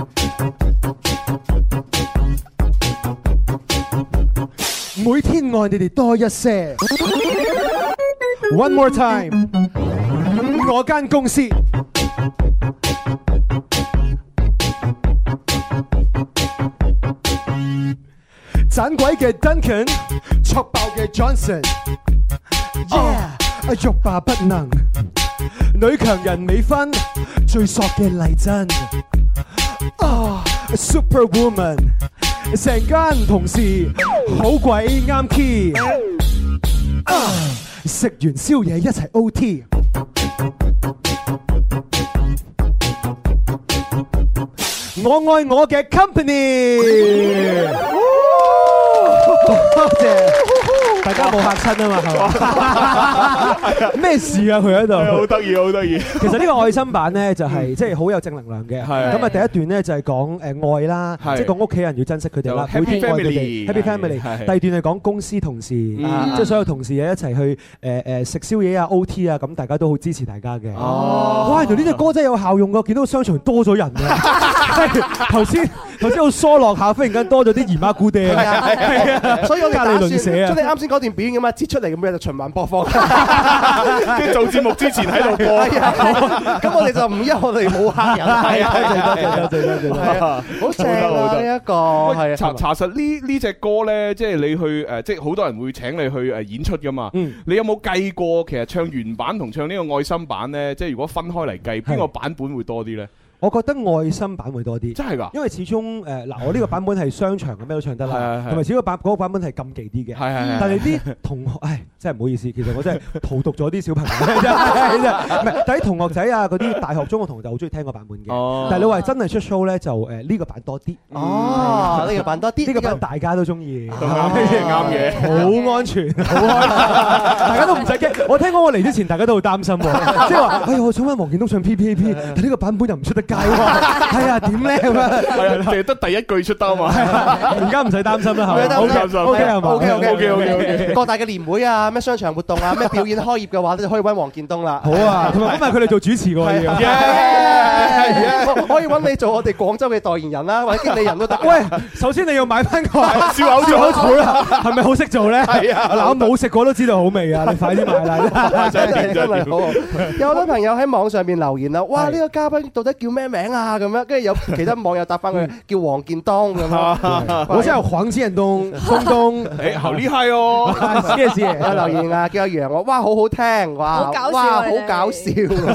每天愛你哋多一些。One more time， 我間公司盞鬼嘅 Duncan， 挫爆嘅 Johnson，yeah， 欲罷不能，女強人美芬，最索嘅麗珍，Superwoman， 成間同事好鬼啱 key。食完宵夜一齊 OT， 我愛我嘅 company。多謝大家冇嚇親啊嘛，係嘛？咩事啊？佢喺度好得意，好得意。 其實呢個愛心版咧就係即係好有正能量嘅。咁啊第一段咧就係講愛啦，即係講屋企人要珍惜佢哋啦，每天愛佢哋 Happy Family。第二段係講公司同事，即係所有同事一齊去食宵夜啊 OT 啊，咁大家都好支持大家嘅。哇！原來呢隻歌真係有效用㗎，見到商場多咗人啊！頭先好疏落下，忽然間多咗啲姨媽姑爹。 所以我哋打算將你啱先嗰段表演咁啊，截出嚟咁樣就循環播放， 即係做節目之前喺度播。 咁我哋就唔憂我哋冇客人。係啊，多謝，好正啊呢一個。係查實呢隻歌咧，即係你去即係好多人會請你去演出噶嘛。你有冇計過其實唱原版同唱呢個愛心版咧？即係如果分開嚟計，邊個版本會多啲咧？ 我覺得愛心版會多啲， 真係㗎， 因為始終我呢個版本係商場嘅咩都唱得啦，同埋始終嗰個版本係禁忌啲嘅，但係啲同學，真係唔好意思，其實我真係荼毒咗啲小朋友，唔係，但係啲同學仔啊，嗰啲大學中學同學就好中意聽個版本嘅，但係你話真係出 show 咧，就呢個版多啲， 呢個版多啲， 呢個版大家都中意， 啱嘅， 好安全，好開心，大家都唔使驚。我聽講我嚟之前，大家都好擔心喎，即係話，我想揾黃建東唱 PPAP，但呢個版本又唔出得。 界喎。係啊，點咧咁啊？ 係啊，淨係得第一句出得啊嘛。 而家唔使擔心啦，係咪？ 好擔心。 OK 係嘛 OK。各大嘅年會啊，咩商場活動啊，咩表演開業嘅話，你就可以揾黃建東啦。 好啊，同埋今日佢哋做主持㗎喎。 可以揾你做我哋廣州嘅代言人啦，或者經理人都得。 喂，首先你要買翻個燒口草啦，係咪好識做咧？係啊，嗱我冇食過都知道好味啊！你快啲買啦， 真係好。有好多朋友喺網上邊留言啦，哇！呢個嘉賓到底叫咩名啊？咁樣，跟住有其他網友答翻佢叫黃建東咁樣。 我真係黃建東，東， 誒好厲害哦！ 謝謝有留言啊，叫阿楊我，哇好好聽，哇好搞笑， 哇好搞笑，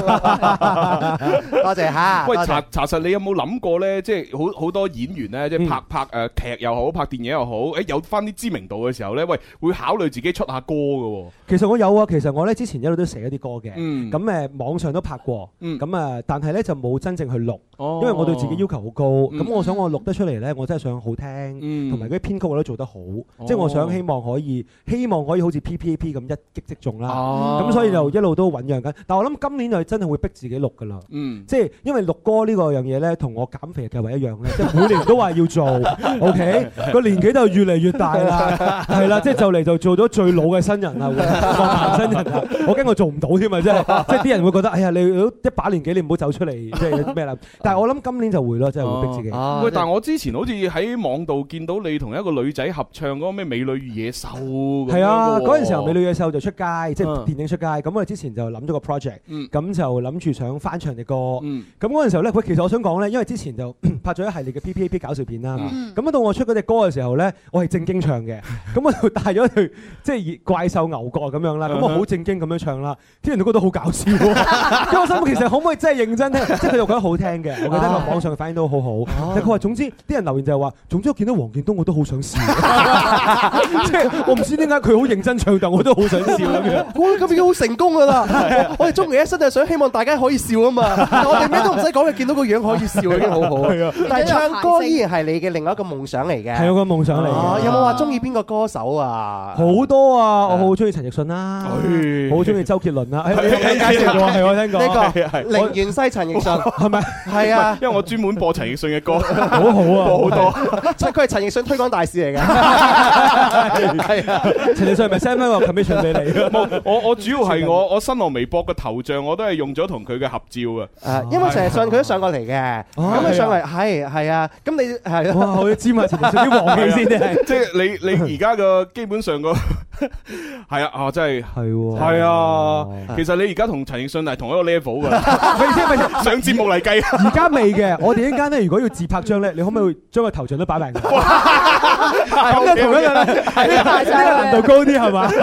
多謝嚇。 喂，查實你有冇諗過咧？即係好多演員咧，即係拍劇又好，拍電影又好，誒有翻啲知名度嘅時候咧，喂會考慮自己出下歌嘅喎。 其實我有啊，其實我咧之前一路都寫一啲歌嘅， 咁誒網上都拍過，咁啊但係咧就冇真正去錄， 因為我對自己要求好高，咁我想我錄得出嚟咧，我真係想好聽，同埋嗰啲編曲我都做得好，即係我想希望可以好似 PPAP 咁一擊即中啦，咁所以就一路都醖釀緊。但我諗今年就真係會逼自己錄㗎啦，即係因為錄歌呢個樣嘢咧，同我減肥嘅計劃一樣咧，即係每年都話要做 ，OK 個年紀就越嚟越大啦，係啦，即係就嚟就做咗最老嘅新人啦，國民新人啦，我驚我做唔到添啊，即係啲人會覺得，哎呀，你都一把年紀，你唔好走出嚟，即係咩啦？但係我諗今年就會咯，真係會逼自己。 喂，但係我之前好似喺網度見到你同一個女仔合唱嗰個咩《美女與野獸》咁樣。係啊，嗰陣時候《美女與野獸》就出街，即係電影出街。咁我哋之前就諗咗個 project，咁就諗住想翻唱嘅歌。咁嗰陣時候咧，喂，其實我想講咧，因為之前就拍咗一系列嘅 PPAP 搞笑片啦。咁到我出嗰隻歌嘅時候咧，我係正經唱嘅。咁我就帶咗對即係怪獸牛角咁樣啦。咁我好正經咁樣唱啦，啲人都覺得好搞笑。因為我心其實可唔可以真係認真聽？即係佢又覺得好聽嘅，我覺得個網上嘅反應都好好。但佢話總之啲人留言就係話，總之我見到黃建東我都好想笑。即係我唔知點解佢好認真唱，但我都好想笑咁樣。 咁已經好成功㗎啦！我哋中年一生就係想希望大家可以笑啊嘛。我哋咩都唔使講，見到個樣可以笑已經好好。但係唱歌依然係你嘅另外一個夢想嚟嘅。 係我個夢想嚟嘅。 有冇話中意邊個歌手啊？ 好多啊！我好中意陳奕迅啦，好中意周杰倫啦。你介紹過係我聽過。 呢個寧願西陳奕迅係咪？ 係啊， 因為我專門播陳奕迅嘅歌， 好好啊， 播好多。 佢係陳奕迅推廣大使嚟嘅。 係啊，陳奕迅係咪 send 翻個 commission 俾你？ 我主要係我新浪微博嘅頭像我都係用咗同佢嘅合照啊。 因為陳奕迅佢都上過嚟嘅，咁佢上嚟係啊，咁你係哇，我要沾下陳奕迅啲黃氣先啫。 即係你而家嘅基本上個係啊，真係係啊。其實你而家同陳奕迅係同一個 level 㗎。 咪上節目嚟計， 而家未嘅。我哋一間咧，如果要自拍張咧，你可唔可以將個頭像都擺埋？咁就同一樣啦，呢個難度高啲係嘛？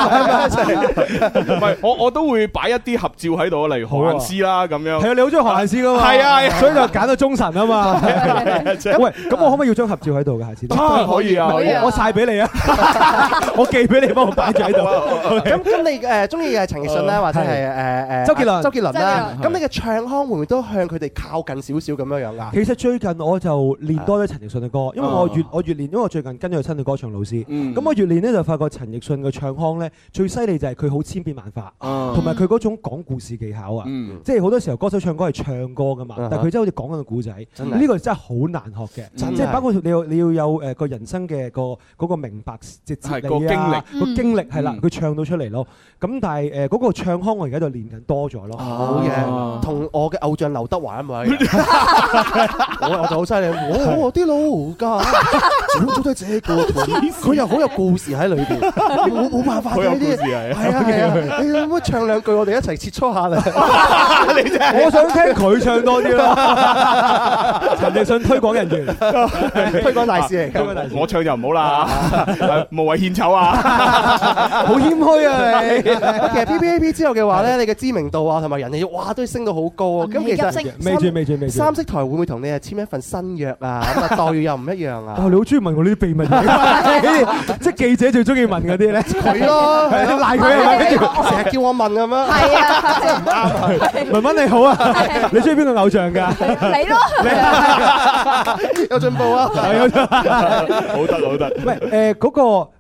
唔係，我都會擺一啲合照喺度，例如何雁詩啦咁樣。 係啊，你好中意何雁詩噶嘛？ 係啊， 所以就揀到忠臣啊嘛。喂，咁我可唔可以要張合照喺度嘅？下次可以啊， 我曬俾你啊，我寄俾你，幫我擺住喺度。 咁你中意嘅係陳奕迅啦，或者係周杰倫啦。咁你嘅唱腔會唔會都向佢哋靠近少少咁樣樣啊？ 其實最近我就練多咗陳奕迅嘅歌，因為我越練，因為我最近跟咗佢親嘅歌唱老師。咁我越練咧就發覺陳奕迅嘅唱腔咧最犀利就係佢好千變萬化，同埋佢嗰種講故事技巧啊。即係好多時候歌手唱歌係唱歌噶嘛，但係佢真係好似講緊個故仔。呢個真係好難學嘅，即係包括你要有誒個人生嘅嗰個明白即係哲理啊，個經歷係啦，佢唱到出嚟咯。咁但係嗰個唱腔我而家就練緊多咗咯。 好嘢，同我嘅偶像劉德華一模一樣。我就好犀利，我啲老家早早都係這個團，佢又好有故事喺裏邊，冇辦法嘅呢啲。係啊，你可唔可以唱兩句，我哋一齊切磋下啦？ 我想聽佢唱多啲咯。陳奕迅推廣人員， 推廣大使嚟。 我唱就唔好啦，無謂獻醜啊！ 好謙虛啊你。 其實 PPAP 之後嘅話咧，你嘅知名度啊同埋人氣，哇都升到好高啊！咁其實未住。 三色台會唔會同你係簽一份新約啊？咁啊待遇又唔一樣啊！ 你好中意問我呢啲秘密嘢，即係記者最中意問嗰啲咧。 佢咯， 賴佢啊！跟住成日叫我問咁樣。 係啊， 真係唔啱啊！ 文文你好啊，你中意邊個偶像㗎？ 你咯， 有進步啊！ 好得。 喂嗰個。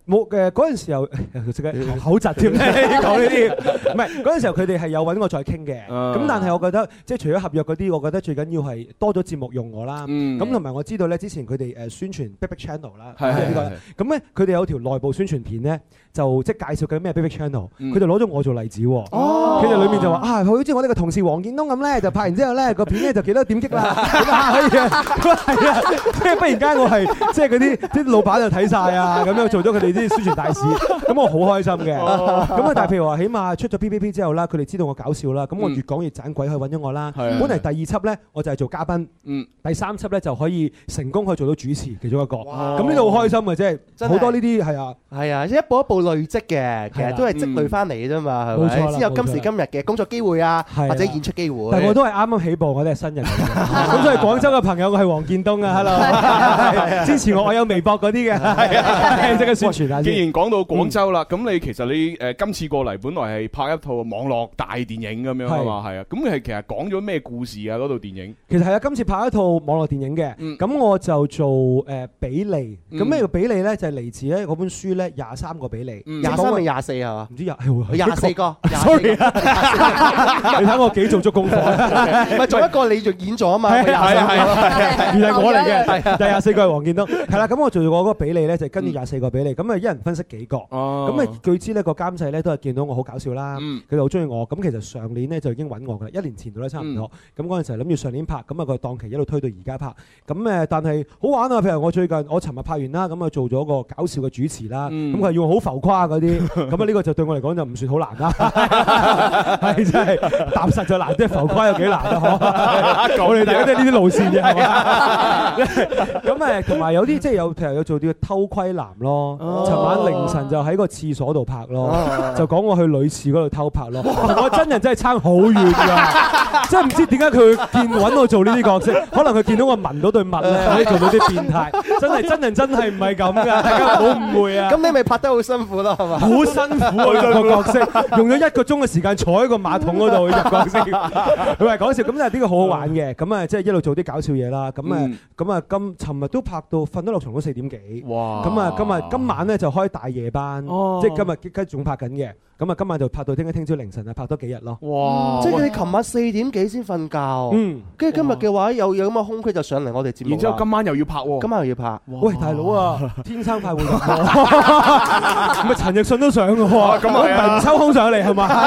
冇嗰陣時候，即係口窒添咧講呢啲。唔係嗰陣時候，佢哋係有揾我再傾嘅。咁但係我覺得，即係除咗合約嗰啲，我覺得最緊要係多咗節目用我啦。咁同埋我知道咧，之前佢哋宣傳 Big Big Channel 啦，咁咧佢哋有條內部宣傳片咧，就即係介紹緊咩 Big Big Channel，佢就攞咗我做例子。佢哋裏面就話啊，好似我呢個同事黃建東咁咧，就拍完之後咧個片咧就幾多點擊啦，咁啊可以啊，係啊，即係忽然間我係即係嗰啲老闆就睇晒啊，咁樣做咗佢哋啲宣傳大使，咁我好開心嘅。咁啊，但係譬如話，起碼出咗 PPP 之後啦，佢哋知道我搞笑啦，咁我越講越盞鬼，去揾咗我啦。本嚟第二輯咧，我就係做嘉賓，第三輯咧就可以成功可以做到主持其中一個。咁呢度好開心嘅，即係好多呢啲係啊， 係啊，一步一步累積嘅，其實都係積累翻嚟嘅啫嘛，係咪？先有今時今日嘅工作機會啊，或者演出機會。 但係我都係啱啱起步，我哋係新人嚟嘅。咁所以廣州嘅朋友，我係黃建東啊 ，hello， 支持我有微博嗰啲嘅，即刻宣傳下先。 既然講到廣州啦，咁你其實你今次過嚟，本來係拍一套網絡大電影咁樣啊嘛，係啊。咁你係其實講咗咩故事啊？嗰套電影其實係啊，今次拍一套網絡電影嘅，咁我就做比利。咁咩叫比利咧？就係嚟自咧嗰本書咧23個比利 ，23定24係嘛？ 唔知 24個。 sorry 啊，你睇我幾做足功課， 唔係做一個你就演咗啊嘛， 係原來我嚟嘅，第24個係黃建東，係啦，咁我做過嗰個比利咧就跟住24個比利，咁啊一人分析幾個，咁啊據知呢個監製咧都係見到我好搞笑啦，佢哋好中意我，咁其實上年咧就已經揾我噶啦，1年前度咧差唔多，咁嗰陣時諗住上年拍，咁啊個檔期一路推到而家拍，咁但係好玩啊，譬如我尋日拍完啦，咁啊做咗個搞笑嘅主持啦，咁佢係要好浮誇嗰啲，咁啊呢個就對我嚟講就唔算好難啦，係真係踏實就難，即係浮誇有幾難啊！我哋大家都係呢啲路線嘅，係嘛？咁同埋有啲即係譬如有做啲偷窺男咯，尋晚凌晨就喺個廁所度拍咯，就講我去女廁嗰度偷拍咯，我真人真係差好遠㗎，真係唔知點解佢揾我做呢啲角色，可能佢見到我聞到對襪咧，可以做到啲變態，真人真係唔係咁㗎，大家唔好誤會啊！ 咁你咪拍得好辛苦咯，係嘛？ 好辛苦啊個角色，用咗1個鐘嘅時間坐喺個馬桶嗰度入角色，佢係講笑，咁但係呢個好好玩嘅，咁啊即係一路做啲搞笑嘢啦，咁啊尋日都拍到瞓得落床都4點幾，哇！咁啊今晚咧就開大夜班，即係今日仲拍緊嘅。咁啊，今晚就拍到聽朝凌晨啊，拍多幾日咯。 哇！即係你琴晚4點幾先瞓覺，跟住今日嘅話有咁嘅空隙就上嚟我哋節目。 然之後今晚又要拍喎， 今晚又要拍。 喂，大佬啊，天生快活人，咁啊陳奕迅都上嘅喎，咁啊唔抽空上嚟係嘛？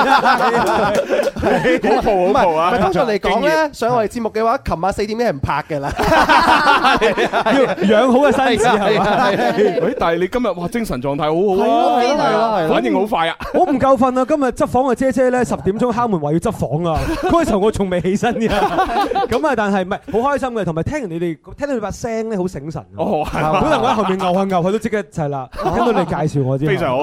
好蒲啊！ 通常嚟講咧，上我哋節目嘅話，琴晚4點幾係唔拍嘅啦， 要養好嘅身子係嘛？ 喂，但係你今日哇精神狀態好好啊， 係反應好快啊！ 我唔夠瞓啊！今日執房嘅姐姐咧10點鐘敲門話要執房啊！嗰時候我仲未起身嘅，咁啊但係唔係好開心嘅，同埋聽完你哋聽到你把聲咧好醒神。哦，係。本來我喺後面牛下牛下都即刻就係啦，聽到你介紹我知。 非常好，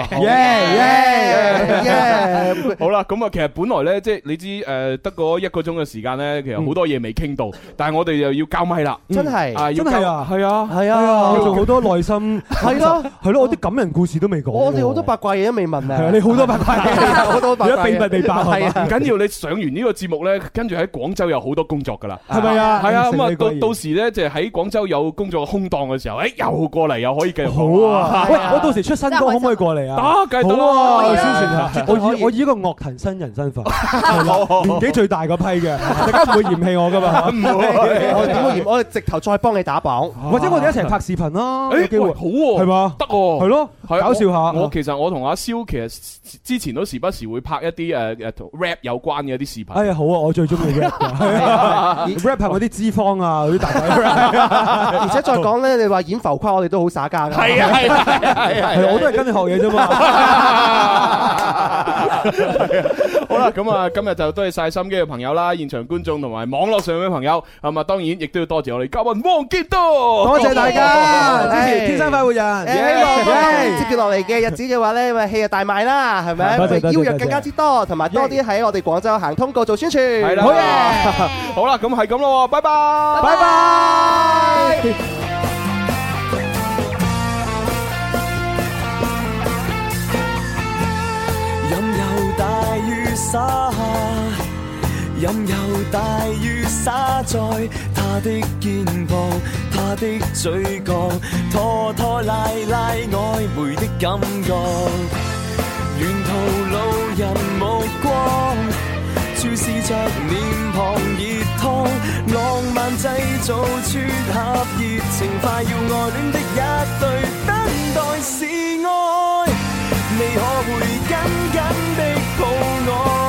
好啦，咁啊其實本來咧即係你知得嗰1個鐘嘅時間咧，其實好多嘢未傾到，但係我哋又要交咪啦。 真係真係啊！ 係啊係啊！ 要做好多內心係咯，我啲感人故事都未講。 我哋好多八卦嘢都未問啊！ 你好多八卦嘢， 好多八卦嘢， 秘密未爆係啊！ 唔緊要，你上完呢個節目咧，跟住喺廣州有好多工作㗎啦， 係咪啊？ 係啊，咁啊到時咧就喺廣州有工作空檔嘅時候，又過嚟又可以繼續好啊！喂，我到時出新歌可唔可以過嚟啊？ 得，梗係得啦！宣傳下，我以一個樂壇新人身份，年紀最大嗰批嘅，大家唔會嫌棄我㗎嘛？唔會， 我點會嫌？我哋直頭再幫你打榜， 或者我哋一齊拍視頻咯，有機會好喎，係嘛？ 得喎， 係咯，搞笑下。 其實我同阿蕭其實之前都時不時會拍一啲同 rap 有關嘅一啲視頻。 哎呀，好啊，我最中意 rap 嘅，rap 係嗰啲脂肪啊，嗰啲大仔。 而且再講咧，你話演浮誇，我哋都好耍家㗎。 係啊係， 我都係跟你學嘢啫嘛。 好啦，咁啊，今日就多謝晒心機嘅朋友啦，現場觀眾同埋網絡上嘅朋友，咁啊，當然亦都要多謝我哋嘉賓黃建東， 多謝大家支持天生快活人。 希望接住落嚟嘅日子嘅話咧，咪戲啊大賣啦，係咪？邀約更加之多，同埋多啲喺我哋廣州行通告做宣傳。 係啦，好嘢！好啦，咁係咁咯，拜拜， 拜拜。 任由大雨灑在他的肩膀，他的嘴角，拖拖拉拉曖昧的感覺。沿途路人目光注視着臉龐熱燙，浪漫製造撮合熱情，快要愛戀的一對，等待是愛，你可會緊緊的抱我？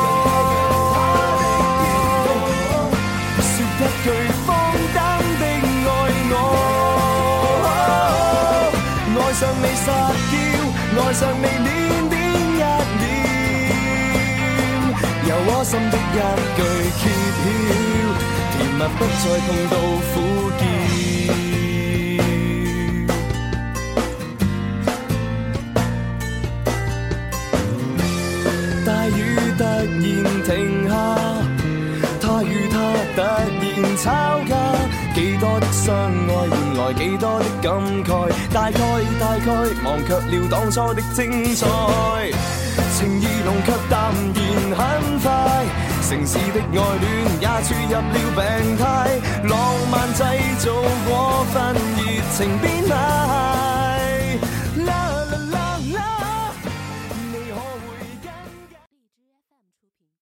說一句放膽的愛我，愛上你撒嬌，愛上你戀點一臉，由我心的一句揭曉，甜蜜不再碰到苦澀。大雨突然停下，他與他突然吵架，幾多的相愛換來幾多的感慨，大概忘卻了當初的精彩，情意濃卻淡然很快，城市的愛戀也注入了病態，浪漫製造過分熱情變態。